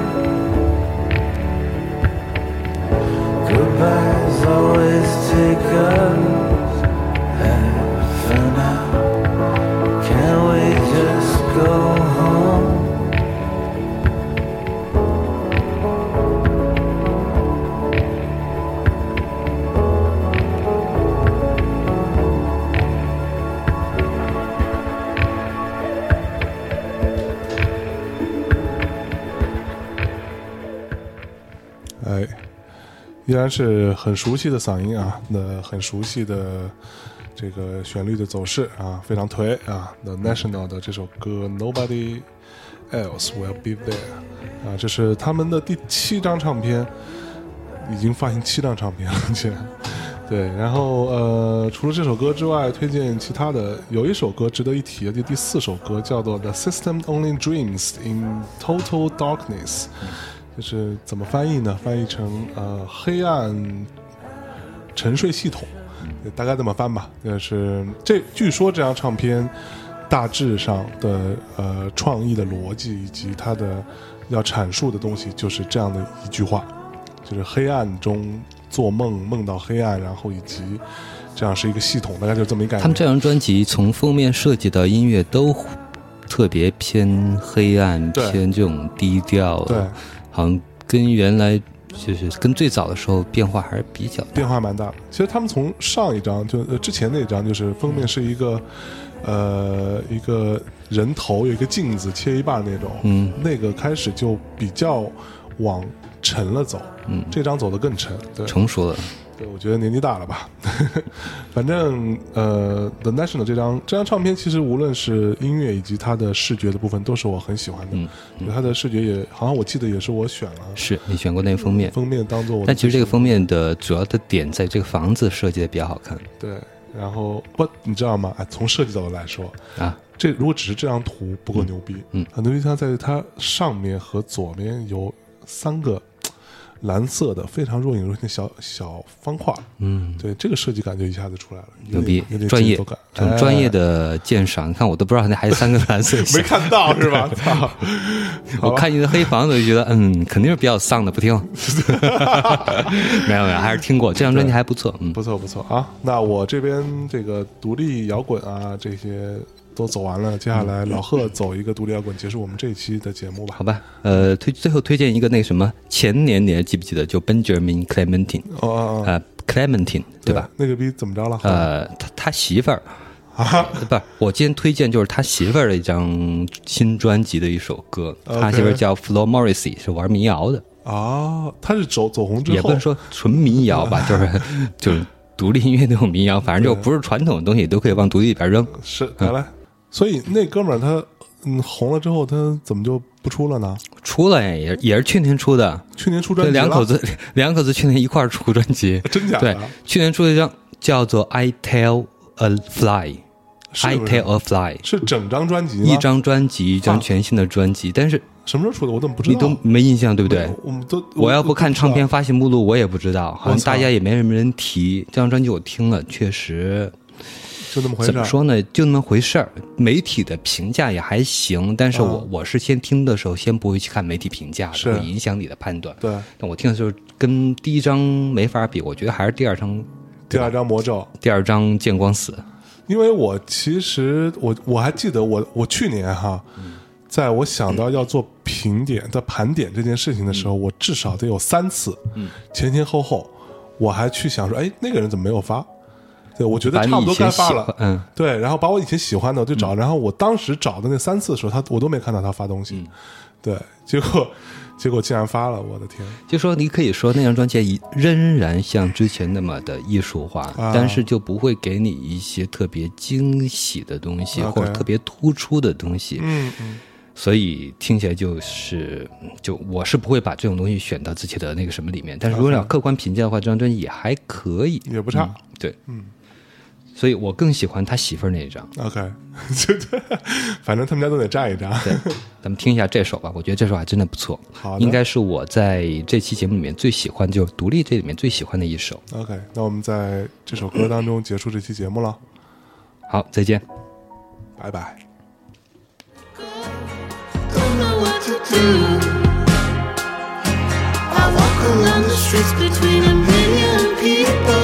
[SPEAKER 4] Goodbyes always take us half an hour.
[SPEAKER 2] 依然是很熟悉的嗓音啊，那很熟悉的这个旋律的走势啊，非常颓啊。The National 的这首歌 Nobody Else Will Be There 啊，这是他们的第7张唱片，已经发行7张唱片了，竟然。对，然后除了这首歌之外，推荐其他的，有一首歌值得一提的，就第4首歌叫做 The System Only Dreams in Total Darkness， 就是怎么翻译呢？翻译成黑暗沉睡系统，大概这么翻吧。就是据说这张唱片大致上的创意的逻辑以及它的要阐述的东西，就是这样的一句话，就是黑暗中做梦，梦到黑暗，然后以及这样是一个系统，大概就这么一概念。
[SPEAKER 1] 他们这张专辑从封面设计到音乐都特别偏黑暗，偏这种低调，
[SPEAKER 2] 对，
[SPEAKER 1] 好像跟原来就是跟最早的时候变化还是比较大，
[SPEAKER 2] 变化蛮大的。其实他们从上一张就之前那张，就是封面是一个一个人头有一个镜子切一半那种，那个开始就比较往沉了走，这张走得更沉，对，
[SPEAKER 1] 成熟了。
[SPEAKER 2] 对，我觉得年纪大了吧。反正The National 这张唱片，其实无论是音乐以及它的视觉的部分，都是我很喜欢的。它的视觉也好像我记得也是我选了，
[SPEAKER 1] 是你选过那个封面，
[SPEAKER 2] 封面当做我。
[SPEAKER 1] 但其实这个封面的主要的点在这个房子设计的比较好看。
[SPEAKER 2] 对，然后你知道吗？从设计角度来说
[SPEAKER 1] 啊，
[SPEAKER 2] 这如果只是这张图不够牛逼，很牛逼，它在它上面和左边有3个蓝色的非常若隐若现的小方块，对，这个设计感就一下子出来了，
[SPEAKER 1] 牛逼，专业，很专业的鉴赏。你看我都不知道那还有3个蓝色，
[SPEAKER 2] 没看到是吧？操！
[SPEAKER 1] 我看你的黑房子就觉得，肯定是比较丧的，不听。没有，还是听过，这张专辑还不错，
[SPEAKER 2] 不错啊。那我这边这个独立摇滚啊这些都走完了，接下来老贺走一个独立摇滚，结束我们这一期的节目吧。
[SPEAKER 1] 好吧，最后推荐一个那个什么，前年你还记不记得？就 Benjamin Clementine， Clementine 对吧？
[SPEAKER 2] 那个逼怎么着了？
[SPEAKER 1] 他媳妇儿
[SPEAKER 2] 啊，
[SPEAKER 1] 不是，我今天推荐就是他媳妇儿的一张新专辑的一首歌，他媳妇儿叫 Flo Morrissey， 是玩民谣的
[SPEAKER 2] 啊。他是走红之后，
[SPEAKER 1] 也不能说纯民谣吧，就是独立音乐那种民谣，反正就不是传统的东西，都可以往独立里边扔。
[SPEAKER 2] 是，来。所以那哥们儿他红了之后，他怎么就不出了呢？
[SPEAKER 1] 出了呀，也是去年出的。
[SPEAKER 2] 去年出专辑，
[SPEAKER 1] 两口子去年一块儿出专辑，
[SPEAKER 2] 真假的？
[SPEAKER 1] 对，去年出了一张叫做《I Tell a Fly》。I Tell a Fly
[SPEAKER 2] 是整张专辑吗？
[SPEAKER 1] 一张专辑，一张全新的专辑，但是
[SPEAKER 2] 什么时候出的？我怎么不知道？
[SPEAKER 1] 你都没印象对不对？我要不看唱片发行目录，我也不知道，好像大家也没什么人提。这张专辑我听了，确实
[SPEAKER 2] 就那么回事。
[SPEAKER 1] 怎么说呢？就那么回事儿。媒体的评价也还行，但是我是先听的时候，先不会去看媒体评价的，会影响你的判断。
[SPEAKER 2] 对，
[SPEAKER 1] 但我听的时候跟第一张没法比，我觉得还是第二张
[SPEAKER 2] 魔咒，
[SPEAKER 1] 第二张见光死。
[SPEAKER 2] 因为我其实我还记得我去年在我想到要做评点在盘点这件事情的时候，我至少得有3次，前后我还去想说，哎，那个人怎么没有发？对，我觉得差不多该发了，对，然后把我以前喜欢的我就找，然后我当时找的那3次的时候，我都没看到他发东西，对，结果竟然发了，我的天！
[SPEAKER 1] 就说你可以说那张专辑仍然像之前那么的艺术化，但是就不会给你一些特别惊喜的东西，或者特别突出的东西。所以听起来就我是不会把这种东西选到自己的那个什么里面。但是如果要客观评价的话，这张专辑也还可以，
[SPEAKER 2] 也不差。
[SPEAKER 1] 对，所以我更喜欢他媳妇儿那一张。
[SPEAKER 2] OK， 反正他们家都得站一张。
[SPEAKER 1] 对，咱们听一下这首吧，我觉得这首还真的不错。
[SPEAKER 2] 好，
[SPEAKER 1] 应该是我在这期节目里面最喜欢，就是独立这里面最喜欢的一首。
[SPEAKER 2] OK， 那我们在这首歌当中结束这期节目了。
[SPEAKER 1] 好，再见，
[SPEAKER 2] 拜拜。
[SPEAKER 5] Don't know what to do. I walk along the streets between a million people.